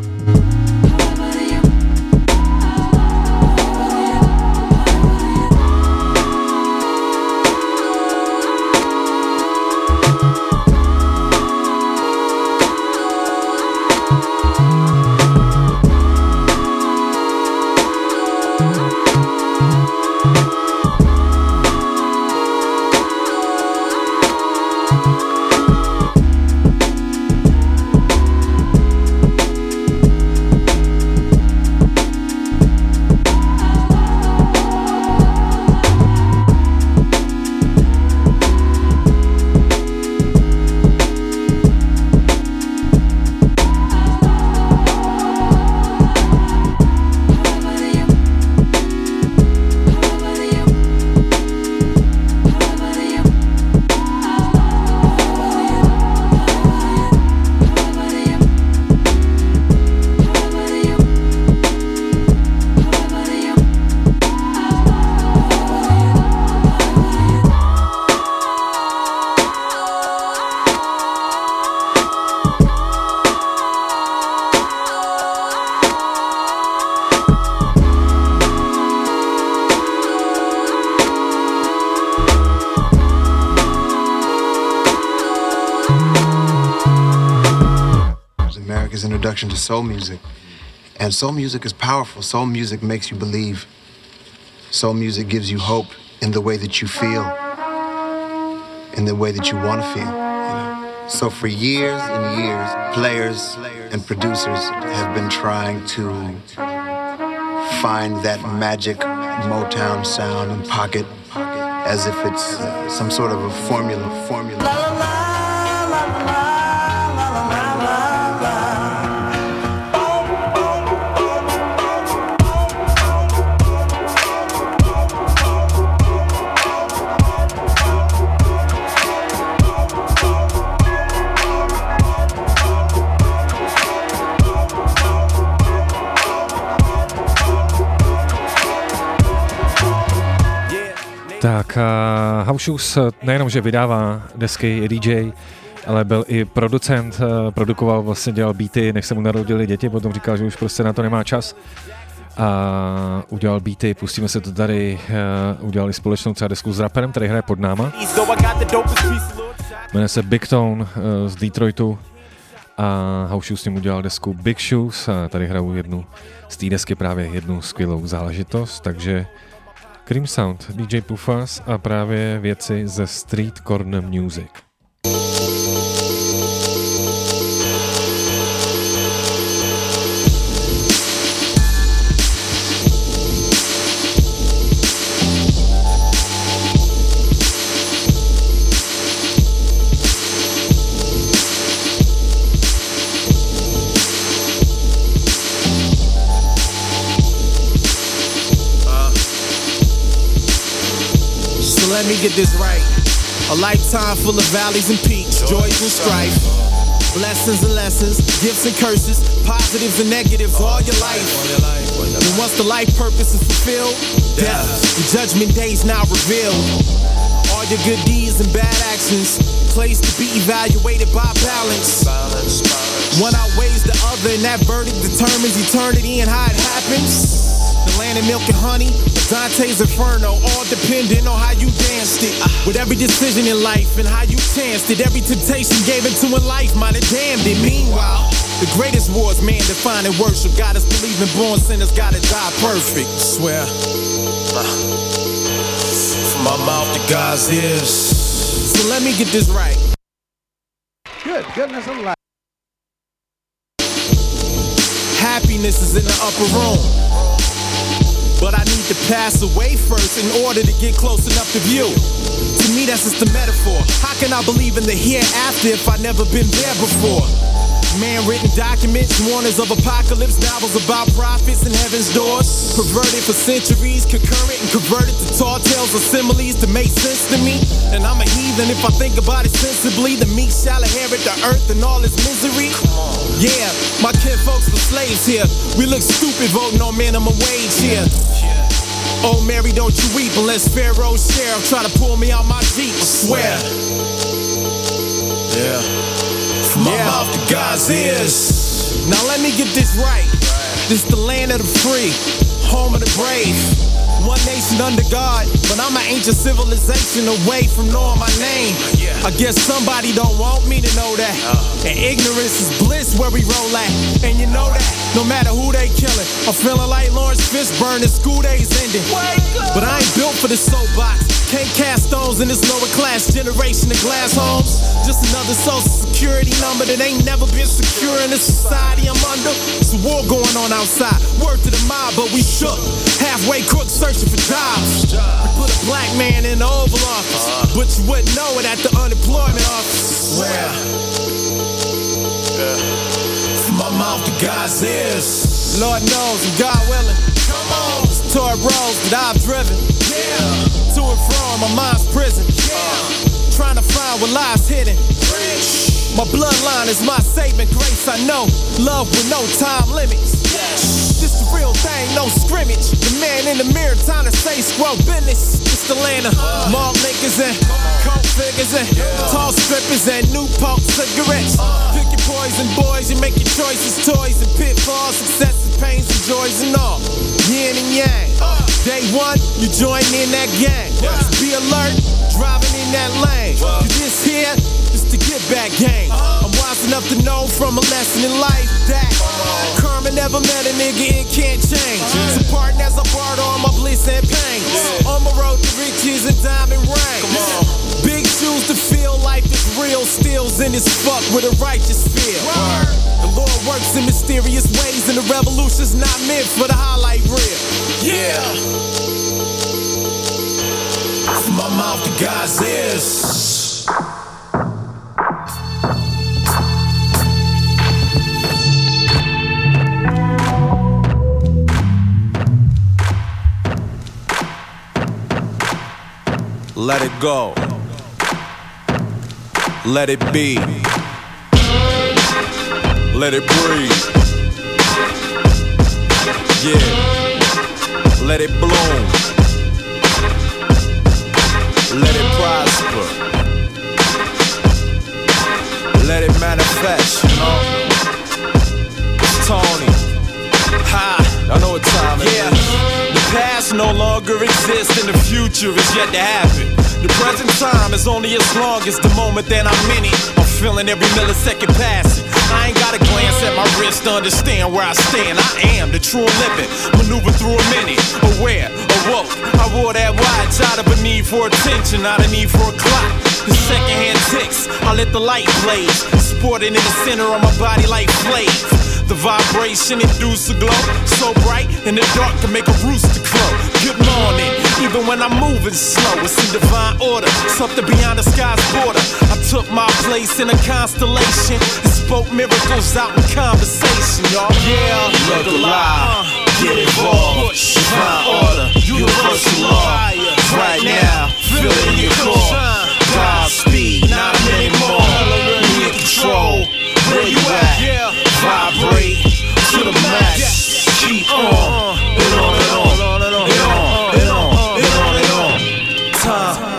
To soul music, and soul music is powerful. Soul music makes you believe. Soul music gives you hope in the way that you feel, in the way that you want to feel, you know? So for years and years, players and producers have been trying to find that magic Motown sound and pocket as if it's uh, some sort of a formula formula Tak uh, House Shoes nejenom, že vydává desky, je D J, ale byl i producent, uh, produkoval, vlastně dělal beaty, než se mu narodili děti, potom říkal, že už prostě na to nemá čas a udělal beaty, pustíme se to tady, uh, udělali společnou třeba desku s raperem, který hraje pod náma. Jmenuje se Big Tone uh, z Detroitu a House Shoes s ním udělal desku Big Shoes a tady hrajou jednu z té desky právě jednu skvělou záležitost, takže Cream Sound, D J Pufas a právě věci ze Street Corner Music. Let me get this right. A lifetime full of valleys and peaks, joys and strife, blessings and lessons, gifts and curses, positives and negatives all your life. And once the life purpose is fulfilled, death and judgment days now revealed. All your good deeds and bad actions, placed to be evaluated by balance. One outweighs the other, and that verdict determines eternity and how it happens. The land of milk and honey, Dante's Inferno, all depending on how you danced it. With every decision in life and how you chanced it, every temptation gave into in life might have damned it. Meanwhile, the greatest wars man defined and worship. God is believing born sinners gotta die perfect. Swear. From my mouth to God's ears. So let me get this right. Good, goodness alive. Happiness is in the upper room, but I need to pass away first in order to get close enough to view. To me, that's just a metaphor. How can I believe in the hereafter if I've never been there before? Man-written documents, warnings of apocalypse, novels about prophets and heaven's doors. Perverted for centuries, concurrent and converted to tall tales or similes to make sense to me. And I'm a heathen if I think about it sensibly. The meek shall inherit the earth and all its misery. Yeah, my kinfolks were slaves here. We look stupid voting on minimum wage here. Oh Mary, don't you weep unless Pharaoh's sheriff try to pull me out my Jeep, I swear. Yeah. From my yeah. mouth to God's ears. Now let me get this right. This the land of the free, home of the brave. One nation under God, but I'm an ancient civilization away from knowing my name. I guess somebody don't want me to know that. And ignorance is bliss where we roll at. And you know that, no matter who they killing, I'm feeling like Lawrence Fishburne and school days ending. But I ain't built for this soapbox. Can't cast stones in this lower class generation of glass homes. Just another social security number that ain't never been secure in the society I'm under. It's a war going on outside. Word to the mob, but we shook. Halfway crooks searching for jobs. We put a black man in the Oval Office, but you wouldn't know it at the unemployment office. Where? From my mouth to God's ears. Lord knows, and God willing. Come on. It's tour roads that I've driven. Yeah. To and from my mind's prison. Yeah. Trying to find what lies hidden. Rich. My bloodline is my saving grace. I know love with no time limits. Yes. This the real thing, no scrimmage. The man in the mirror trying to say squirrel business. It's the land of uh. malt liquors and coke figures and yeah. tall strippers and Newport cigarettes. Uh. Pick your poison, boys. You make your choices, toys and pitfalls, successes, pains and joys and all. Yin and yang. Uh. Day one, you join in that gang. Yes. Be alert, driving in that lane. Uh. You just here, just to get back game. Uh. I'm wise enough to know from a lesson in life that uh. karma never met a nigga, it can't change. Uh. So pardon as I part all my bliss and pain. Yeah. On my road to riches and diamond rings. Come on. Big shoes to feel life is real, steals in his fuck with a righteous feel. Word. The Lord works in mysterious ways, and the revolution's not meant for the highlight reel. Yeah. From my mouth to God's ears. Let it go. Let it be. Let it breathe. Yeah. Let it bloom. Let it prosper. Let it manifest, you know. It's Tony. Ha. I know what time it yeah. is. The past no longer exists and the future is yet to happen. The present time is only as long as the moment that I'm in it. I'm feeling every millisecond passing. I ain't gotta glance at my wrist to understand where I stand. I am the true living, maneuver through a minute. Aware, awoke, I wore that watch out of a need for attention, not a need for a clock. The secondhand ticks, I let the light blaze, sporting in the center of my body like flames. The vibration induce a glow, so bright in the dark can make a rooster crow. Good morning, even when I'm moving slow, it's in divine order, something beyond the sky's border. I took my place in a constellation and spoke miracles out in conversation, y'all. Yeah, look alive, get involved, divine order, universal law. Right now, feel it in your core. Godspeed, not a minute more. We in control. Where you at? Vibrate to the max. Keep on and on and on and on and on and on and on and on. Time.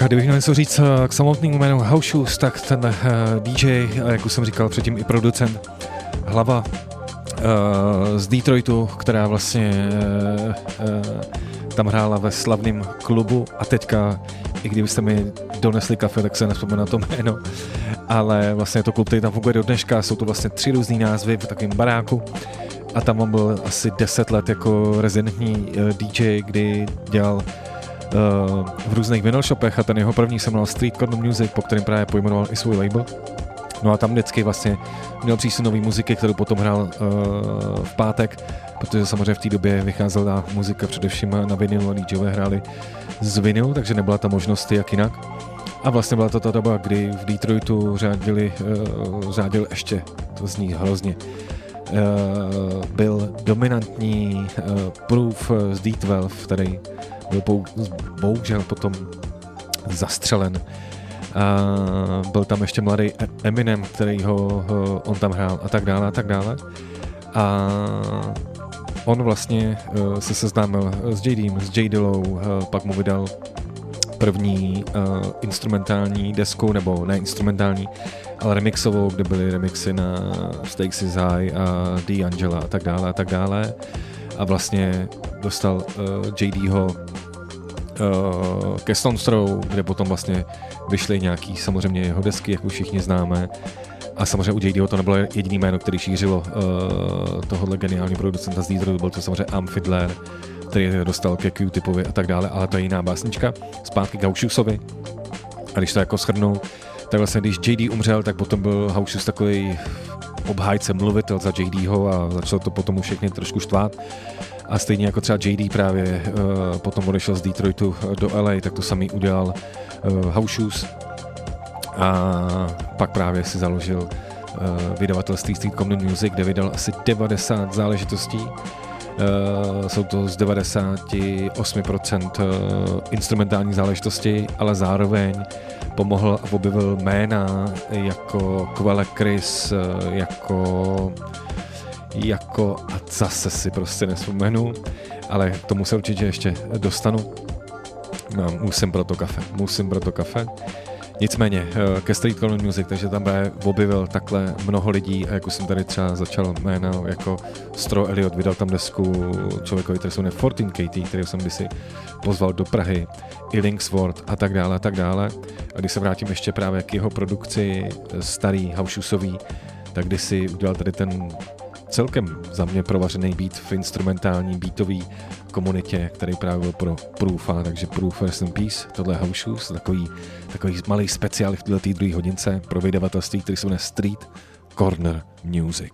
kdybych měl něco říct k samotnému jménu House Shoes, tak ten uh, D J, jak už jsem říkal předtím i producent, hlava uh, z Detroitu, která vlastně uh, uh, tam hrála ve slavném klubu a teďka, i kdybyste mi donesli kafe, tak se nevzpomenu na to jméno, ale vlastně je to klub, který tam funguje do dneška, jsou to vlastně tři různý názvy v takovém baráku a tam on byl asi deset let jako rezidentní uh, D J, kdy dělal uh, v různých vinyl shopech a ten jeho první se jmenoval Street Corner Music, po kterém právě pojmenoval i svůj label. No a tam vždycky vlastně měl přístup nový muziky, kterou potom hrál uh, v pátek, protože samozřejmě v té době vycházela muzika především na vinylu a DJové hráli z vinylu, takže nebyla ta možnost jak jinak. A vlastně byla to ta doba, kdy v Detroitu řádili, uh, řádil ještě, to zní hrozně, uh, byl dominantní uh, Proof z D dvanáct, který byl pou, bohužel potom zastřelen. A byl tam ještě mladý Eminem, který ho, ho on tam hrál a tak dále a tak dále. A on vlastně uh, se seznámil s J Dem, s J Dillou, uh, pak mu vydal první uh, instrumentální desku, nebo ne instrumentální, ale remixovou, kde byly remixy na Stakes is High a D'Angela a tak dále a tak dále. A vlastně dostal uh, J Dho uh, ke Stones Throw, kde potom vlastně vyšly nějaký samozřejmě jeho desky, jak už všichni známe. A samozřejmě u J Dho to nebylo jediný jméno, který šířilo uh, tohohle geniální producenta z Detroitu, byl to samozřejmě Am Fiddler, který dostal ke Q-Tipovi a tak dále, ale to je jiná básnička. Zpátky k House Shoesovi. A když to jako shrnu, tak vlastně když J D umřel, tak potom byl House Shoes takový obhájce, mluvitel za J Dho a začalo to potom už všechny trošku štvát. A stejně jako třeba J D právě uh, potom odešel z Detroitu do L A, tak to samý udělal uh, House Shoes. A pak právě si založil uh, vydavatelství Street Corner Music, kde vydal asi devadesát záležitostí. Uh, jsou to z devadesát osm procent uh, instrumentální záležitosti, ale zároveň pomohl a objevil jména jako Quelle Chris, uh, jako jako a zase si prostě nespomenu, ale k tomu se určitě ještě dostanu. No, musím pro to kafe, musím pro to kafe. Nicméně ke Street Corner Music, takže tam právě objevil takhle mnoho lidí a jak už jsem tady třeba začal jméno jako Stro Elliot, vydal tam desku člověkovi, který se jmenuje čtrnáct K T, který jsem kdysi pozval do Prahy, i Linksworth a tak dále a tak dále. A když se vrátím ještě právě k jeho produkci starý House Shoesový, tak kdysi udělal tady ten celkem za mě provařený beat v instrumentální beatový komunitě, který právě byl pro Proofa, takže Proof Rest in Peace, tohle je House Shoes, takový, takový malý speciál v této druhé hodince pro vydavatelství, který se jmenuje Street Corner Music.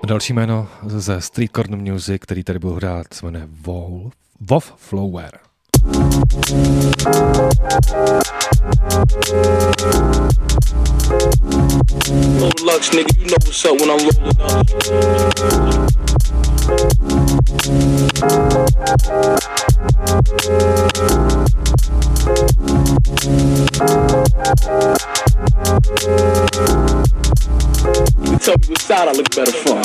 Další jméno ze Street Corner Music, který tady budu hrát, se jmenuje Wolf, Wolf Flower. No Lux, nigga, you know what's up when I'm rolling up. You tell me what side I look better from.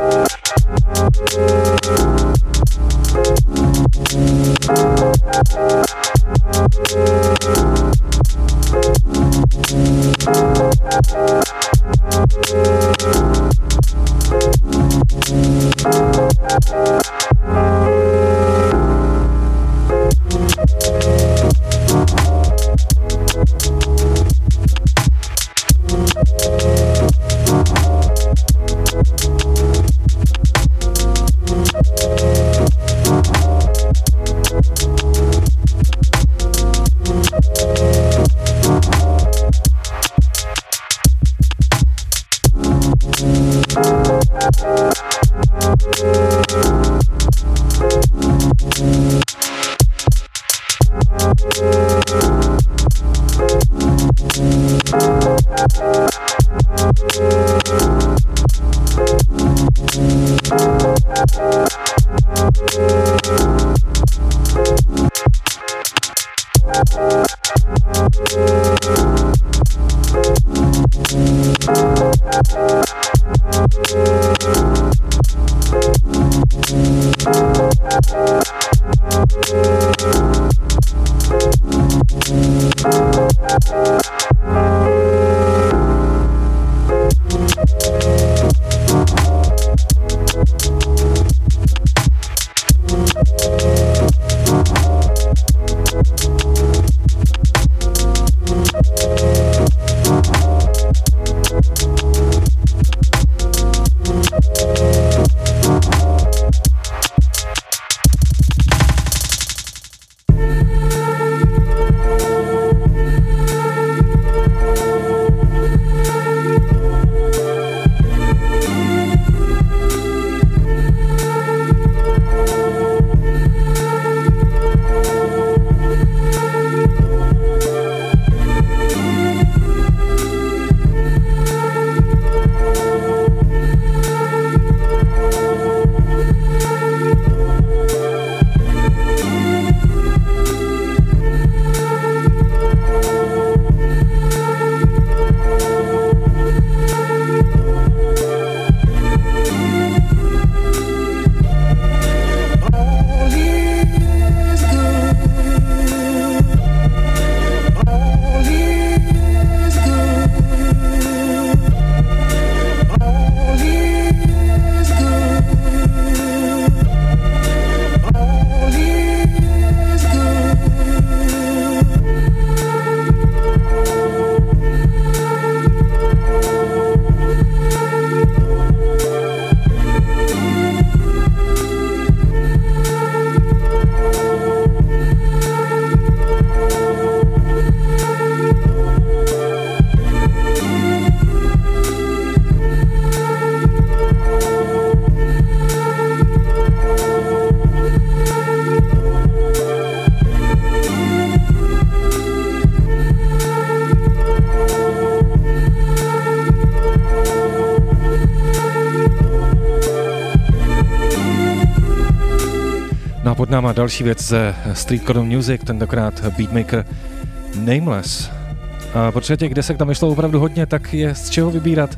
Pod náma další věc ze Street Corner Music, tentokrát beatmaker Nameless. A protože těch desek tam vyšlo opravdu hodně, tak je z čeho vybírat.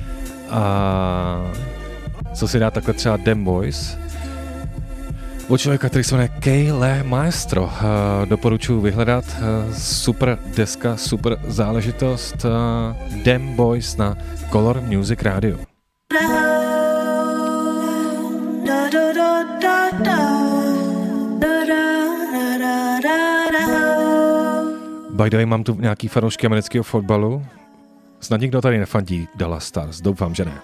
A co si dá takhle třeba Dem Boys. Od člověka, který se jmenuje Kyle Maestro. Doporučuji vyhledat. Super deska, super záležitost. Dem Boys na Color Music Radio. By the way, mám tu nějaký fanoušky amerického fotbalu. Snad nikdo tady nefandí Dallas Stars, doufám, že ne.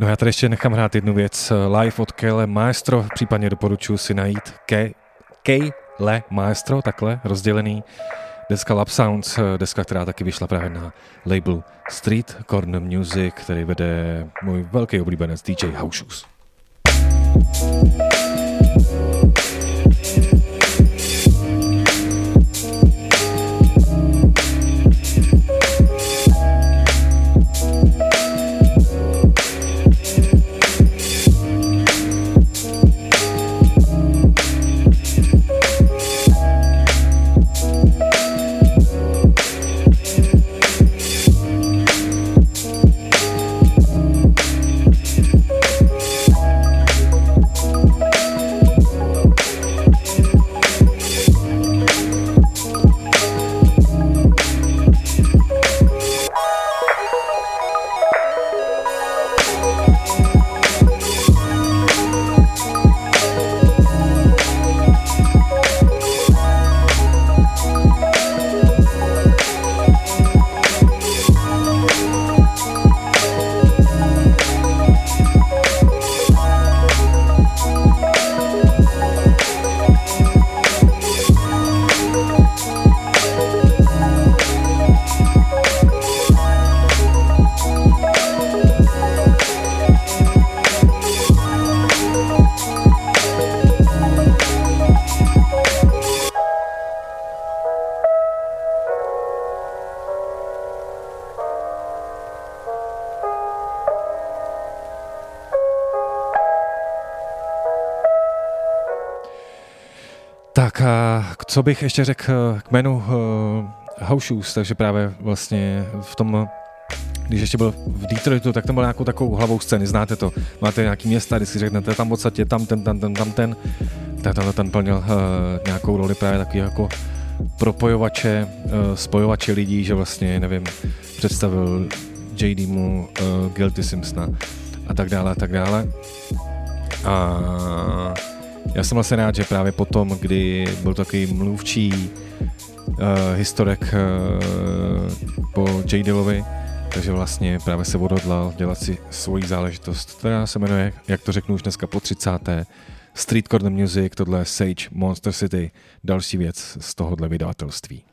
No já tady ještě nechám hrát jednu věc. Live od Kele Maestro, případně doporučuji si najít Kele Maestro, takhle, rozdělený. Deska Lab Sounds, deska, která taky vyšla právě na labelu Street Corner Music, který vede můj velký oblíbenec D J House Shoes. Tak a co bych ještě řekl k jménu uh, House Shoes, takže právě vlastně v tom, když ještě byl v Detroitu, tak tam byl nějakou takovou hlavou scény, znáte to, máte nějaký města, když si řeknete tam v podstatě tam ten, tam ten, tam ten, tak tam ten plnil uh, nějakou roli právě takový jako propojovače, uh, spojovače lidí, že vlastně, nevím, představil J D mu uh, Guilty Simpsona a tak dále a tak dále. A já jsem vlastně rád, že právě potom, kdy byl takový mluvčí uh, historek uh, po J Dillovi, takže vlastně právě se odhodlal dělat si svoji záležitost, která se jmenuje, jak to řeknu už dneska po třicáté Street Corner Music, tohle je Sage Monster City, další věc z tohohle vydavatelství.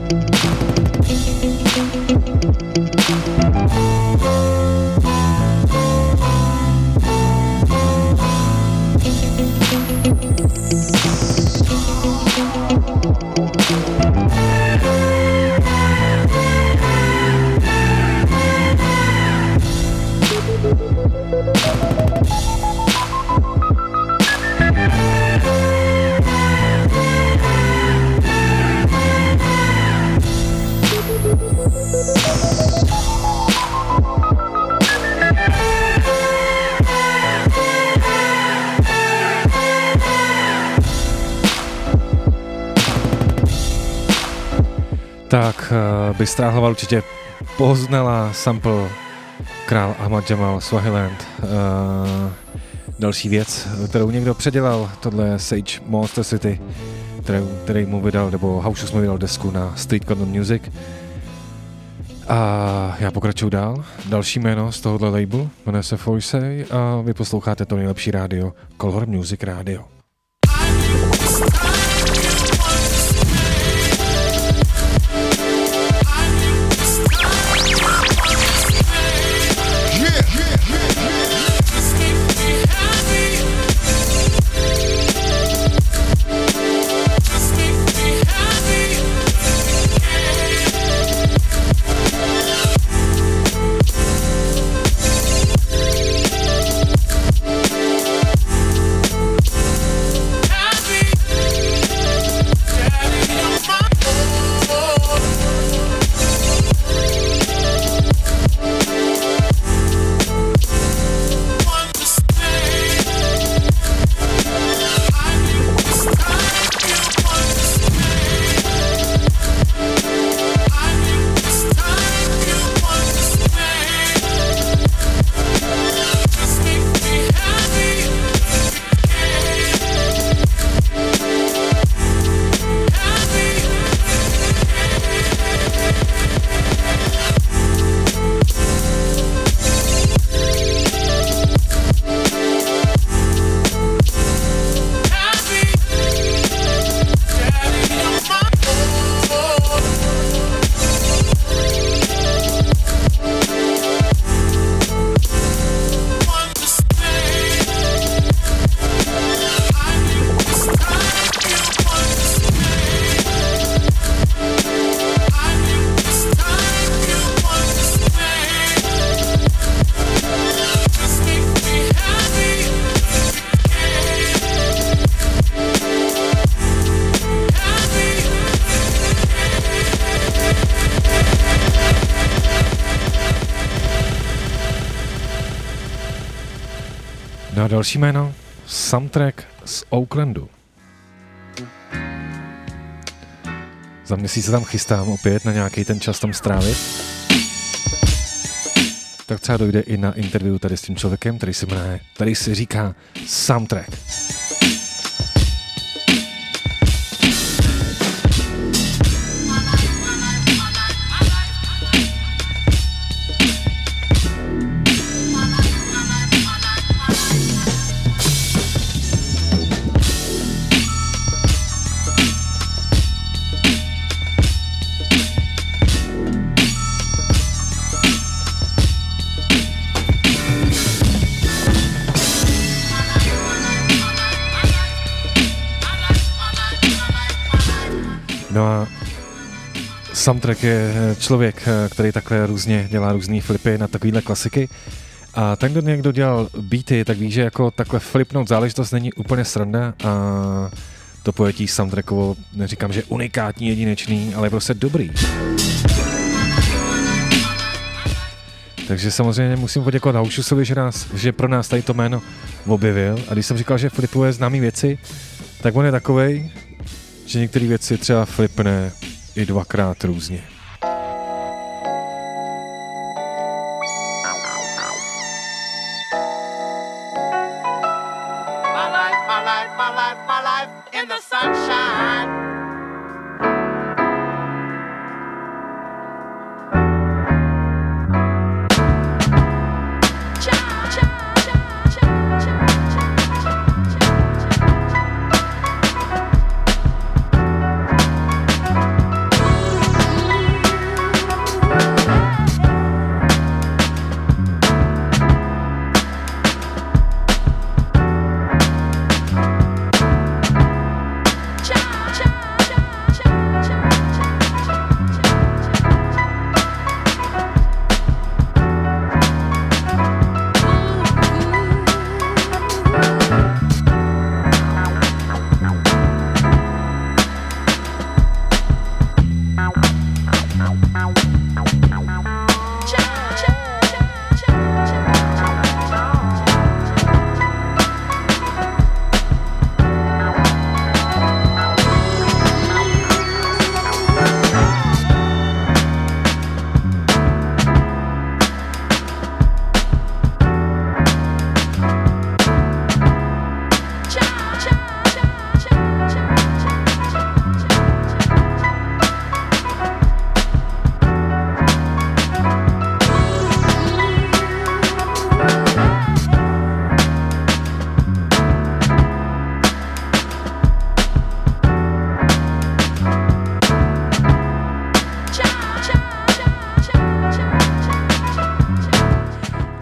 Tak Bystrá hlava určitě poznala sample Král Ahmad Jamal Swaziland. Uh, další věc, kterou někdo předělal, tohle je Sage Monster City, který, který mu vydal, nebo Haušus mu vydal desku na Street Cotton Music. A já pokračuju dál. Další jméno z tohohle labelu jmenuje se Foisey a vy posloucháte to nejlepší rádio, Color Music Radio. No a další jméno, Soundtrack z Oaklandu. Za měsíc se tam chystám opět na nějaký ten čas tam strávit. Tak třeba dojde i na interview tady s tím člověkem, který se jmenuje, který si říká Soundtrack. No a Soundtrack je člověk, který takhle různě dělá různý flipy na takovýhle klasiky. A ten, kdo někdo dělal beaty, tak ví, že jako takhle flipnout záležitost není úplně sranda a to pojetí Soundtrackovo, neříkám, že unikátní, jedinečný, ale je prostě dobrý. Takže samozřejmě musím poděkovat Haušusovi, že, nás, že pro nás tady to jméno objevil. A když jsem říkal, že flipuje známý věci, tak on je takovej, že některé věci třeba flipne i dvakrát různě.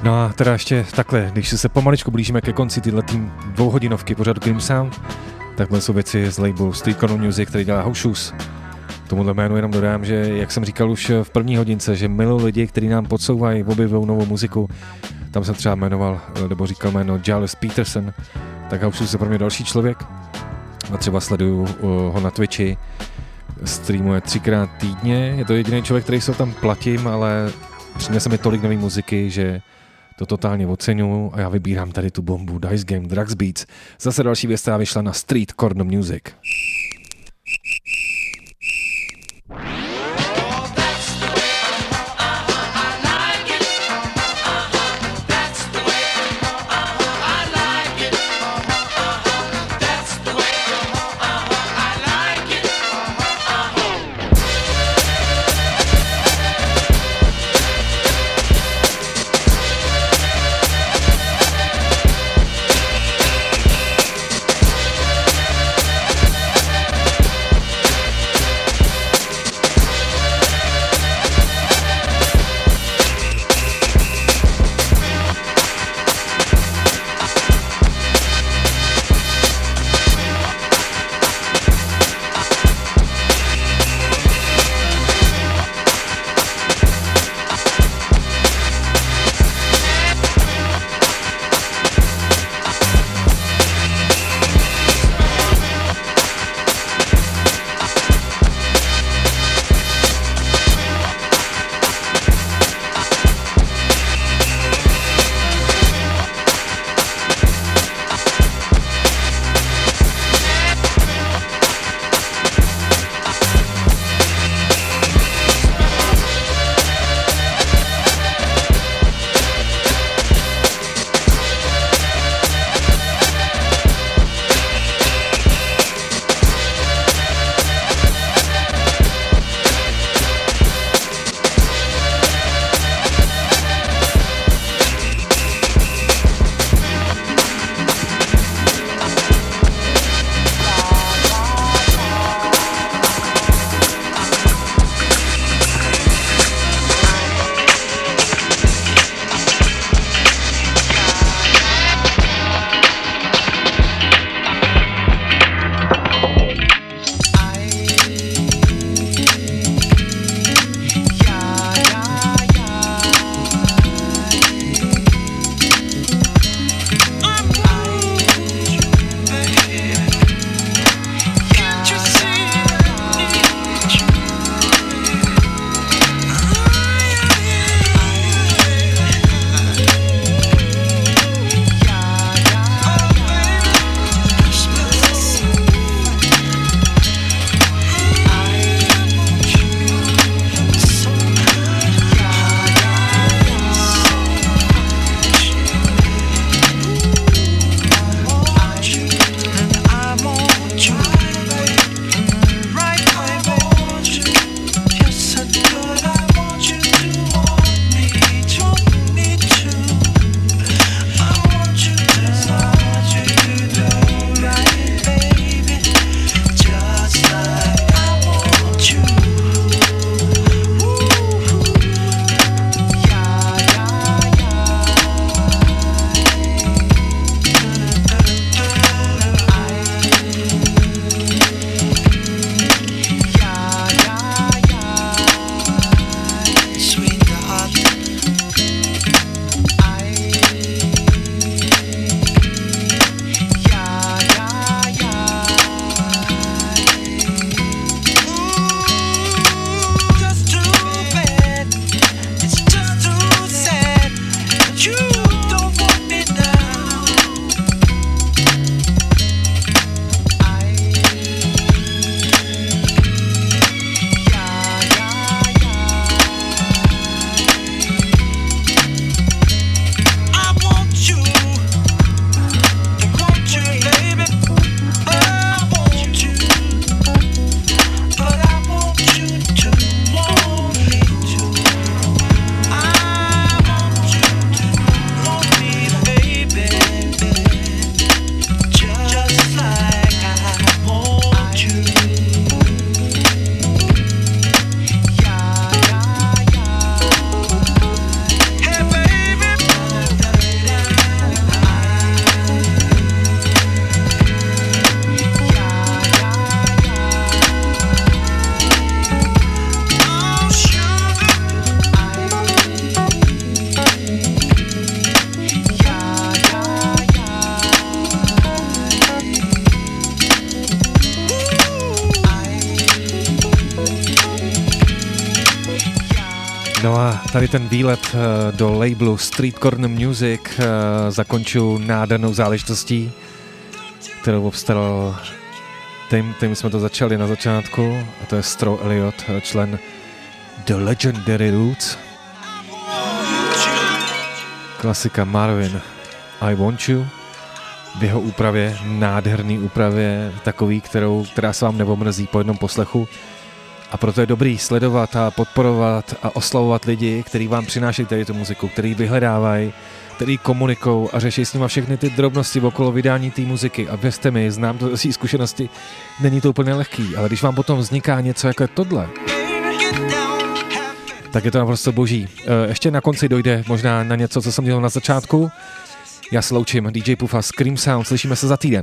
No a teda ještě takhle, když se pomaličku blížíme ke konci tyhle tým dvouhodinovky pořadu Cream Sound, takhle jsou věci z labelu Street Corner Music, který dělá House Shoes. Tomuhle jménu jenom dodám, že jak jsem říkal už v první hodince, že miluji lidi, kteří nám podsouvají, objevují novou muziku. Tam jsem třeba jmenoval, nebo říkal jméno Giles Peterson, tak House Shoes je pro mě další člověk. A třeba sleduju ho na Twitchi, streamuje třikrát týdně, je to jediný člověk, který se tam platím, ale přinese mi tolik nové muziky, že to totálně oceňuju a já vybírám tady tu bombu Dice Game Drugs Beats. Zase další věc, která vyšla na Street Corner Music. No a tady ten výlet do labelu Street Corner Music zakončuju nádhernou záležitostí, kterou obstaral tím, tím jsme to začali na začátku, a to je Stro Elliott, člen The Legendary Roots. Klasika Marvin I Want You v jeho úpravě, nádherný úpravě, takový, kterou, která se vám neomrzí po jednom poslechu. A proto je dobrý sledovat a podporovat a oslavovat lidi, kteří vám přinášejí tady tu muziku, který vyhledávají, který komunikují a řeší s nima všechny ty drobnosti okolo vydání té muziky. A věřte mi, znám to z zkušenosti, není to úplně lehký, ale když vám potom vzniká něco jako je tohle, tak je to naprosto boží. Ještě na konci dojde možná na něco, co jsem dělal na začátku. Já se loučím, D J Pufa, Scream Sound, slyšíme se za týden.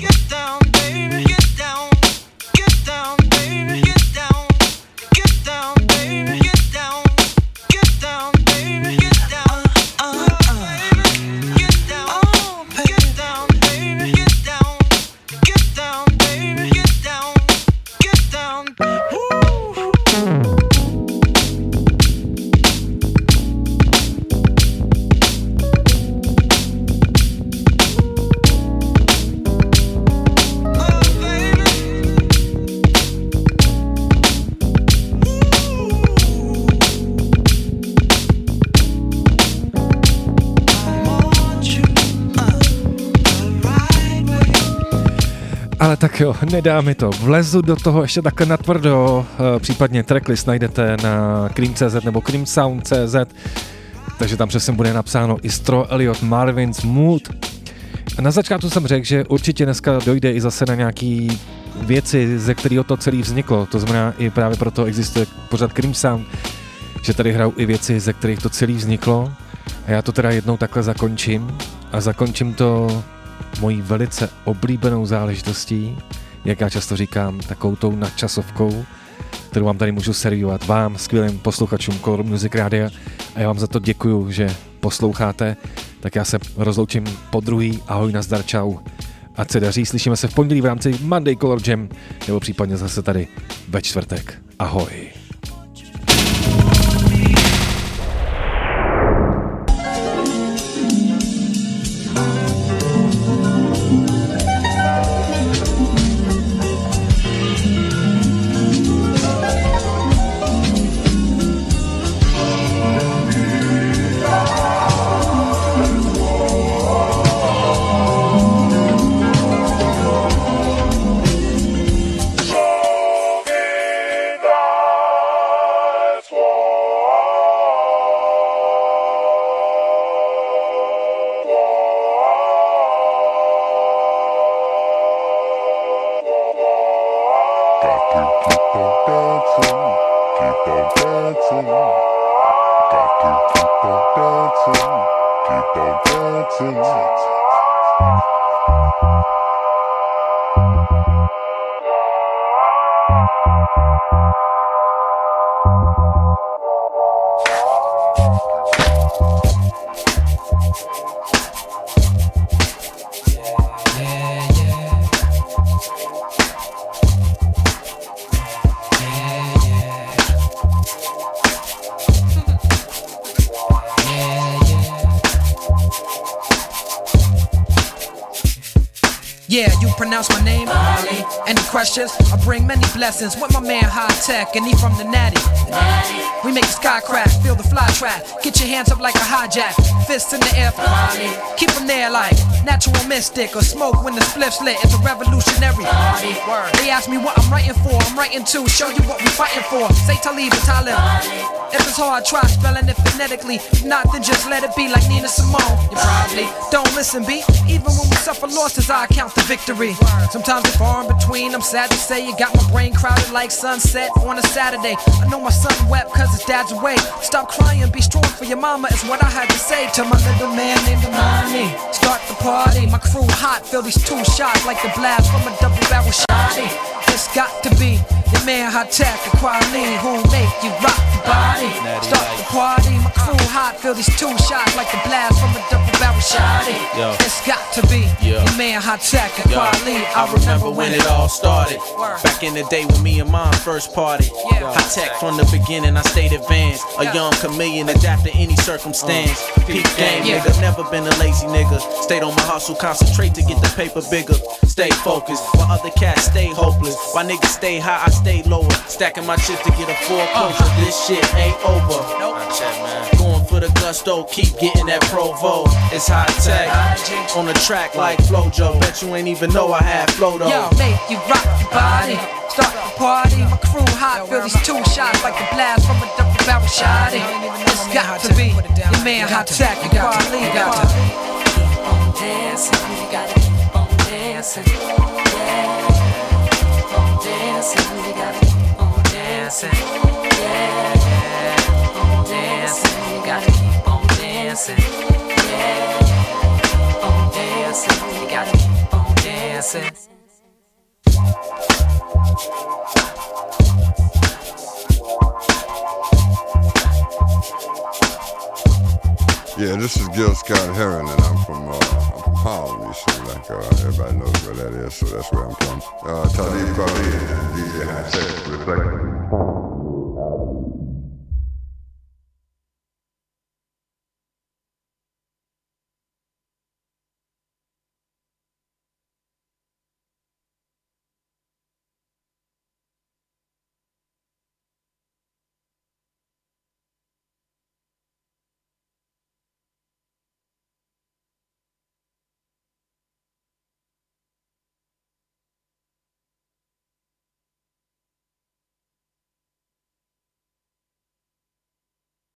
Ale tak jo, nedá mi to. Vlezu do toho ještě takhle natvrdo, případně tracklist najdete na cream tečka cé zet nebo creamsound tečka cé zet, takže tam přesně bude napsáno i Stro Elliott Marvin's Mood. A na začátku jsem řekl, že určitě dneska dojde i zase na nějaký věci, ze kterého to celé vzniklo, to znamená i právě proto existuje pořád Cream Sound, že tady hrajou i věci, ze kterých to celé vzniklo a já to teda jednou takhle zakončím a zakončím to mojí velice oblíbenou záležitostí, jak já často říkám, takovou tou nadčasovkou, kterou vám tady můžu servírovat vám, skvělým posluchačům Color Music Rádia, a já vám za to děkuju, že posloucháte, tak já se rozloučím po druhý, ahoj, nazdar, čau, ať se daří, slyšíme se v pondělí v rámci Monday Color Jam, nebo případně zase tady ve čtvrtek, ahoj. Pronounce my name, Molly. Any questions? I bring many blessings with my man High Tech, and he from the Natty. Natty. We make the sky crack, feel the fly trap. Get your hands up like a hijack, fists in the air for Molly. Keep them there like natural mystic or smoke when the spliff's lit. It's a revolutionary. Molly. They ask me what I'm writing for. I'm writing to show you what we fighting for. Say Talib and Talib. Molly. If it's hard, try spelling it phonetically. If not, then just let it be like Nina Simone. You probably don't listen, B. Even when we suffer losses, I count the victory. Sometimes it's far in between, I'm sad to say. You got my brain crowded like sunset on a Saturday. I know my son wept cause his dad's away. Stop crying, be strong for your mama is what I had to say to my little man named Imani. Start the party, my crew hot, feel these two shots like the blast from a double barrel shotty. It's got to be your man High Tech, the quality who make you rock the body. Start the party, my crew hot, feel these two shots like the blast from a double barrel Shawty, Yo. it's got to be Yeah. your man Hot Tech and Yo, Kweli. I remember when it all started. Back in the day when me and mom first party. Hot tech from the beginning, I stayed advanced. A young chameleon, adapt to any circumstance. Peak game, Yeah. nigga, never been a lazy nigga. Stayed on my hustle, concentrate to get the paper bigger. Stay focused, while other cats stay hopeless. While niggas stay high, I stay lower. Stacking my chips to get a foreclosure. This shit ain't over. Going for the gusto, keep getting that Provo. It's hot tech on the track like Flojo. Bet you ain't even know I had flow though. Yo, make you rock your body, start the party. My crew hot, feel these two shots like the blast from a double barrel shotty. It's got to be your man Hot Tech and Kweli. Got to keep on dancing, you gotta keep on dancing, yeah. Keep on dancing, you gotta keep on dancing, yeah. Keep on dancing, you gotta keep on dancing, yeah. Keep on dancing, you gotta keep on dancing. Yeah, this is Gil Scott Heron, and I'm from, uh, I'm from Harlem, you see, like uh, everybody knows where that is, so that's where I'm from. Uh, Talib Kweli and D J Hot Tech, Reflection.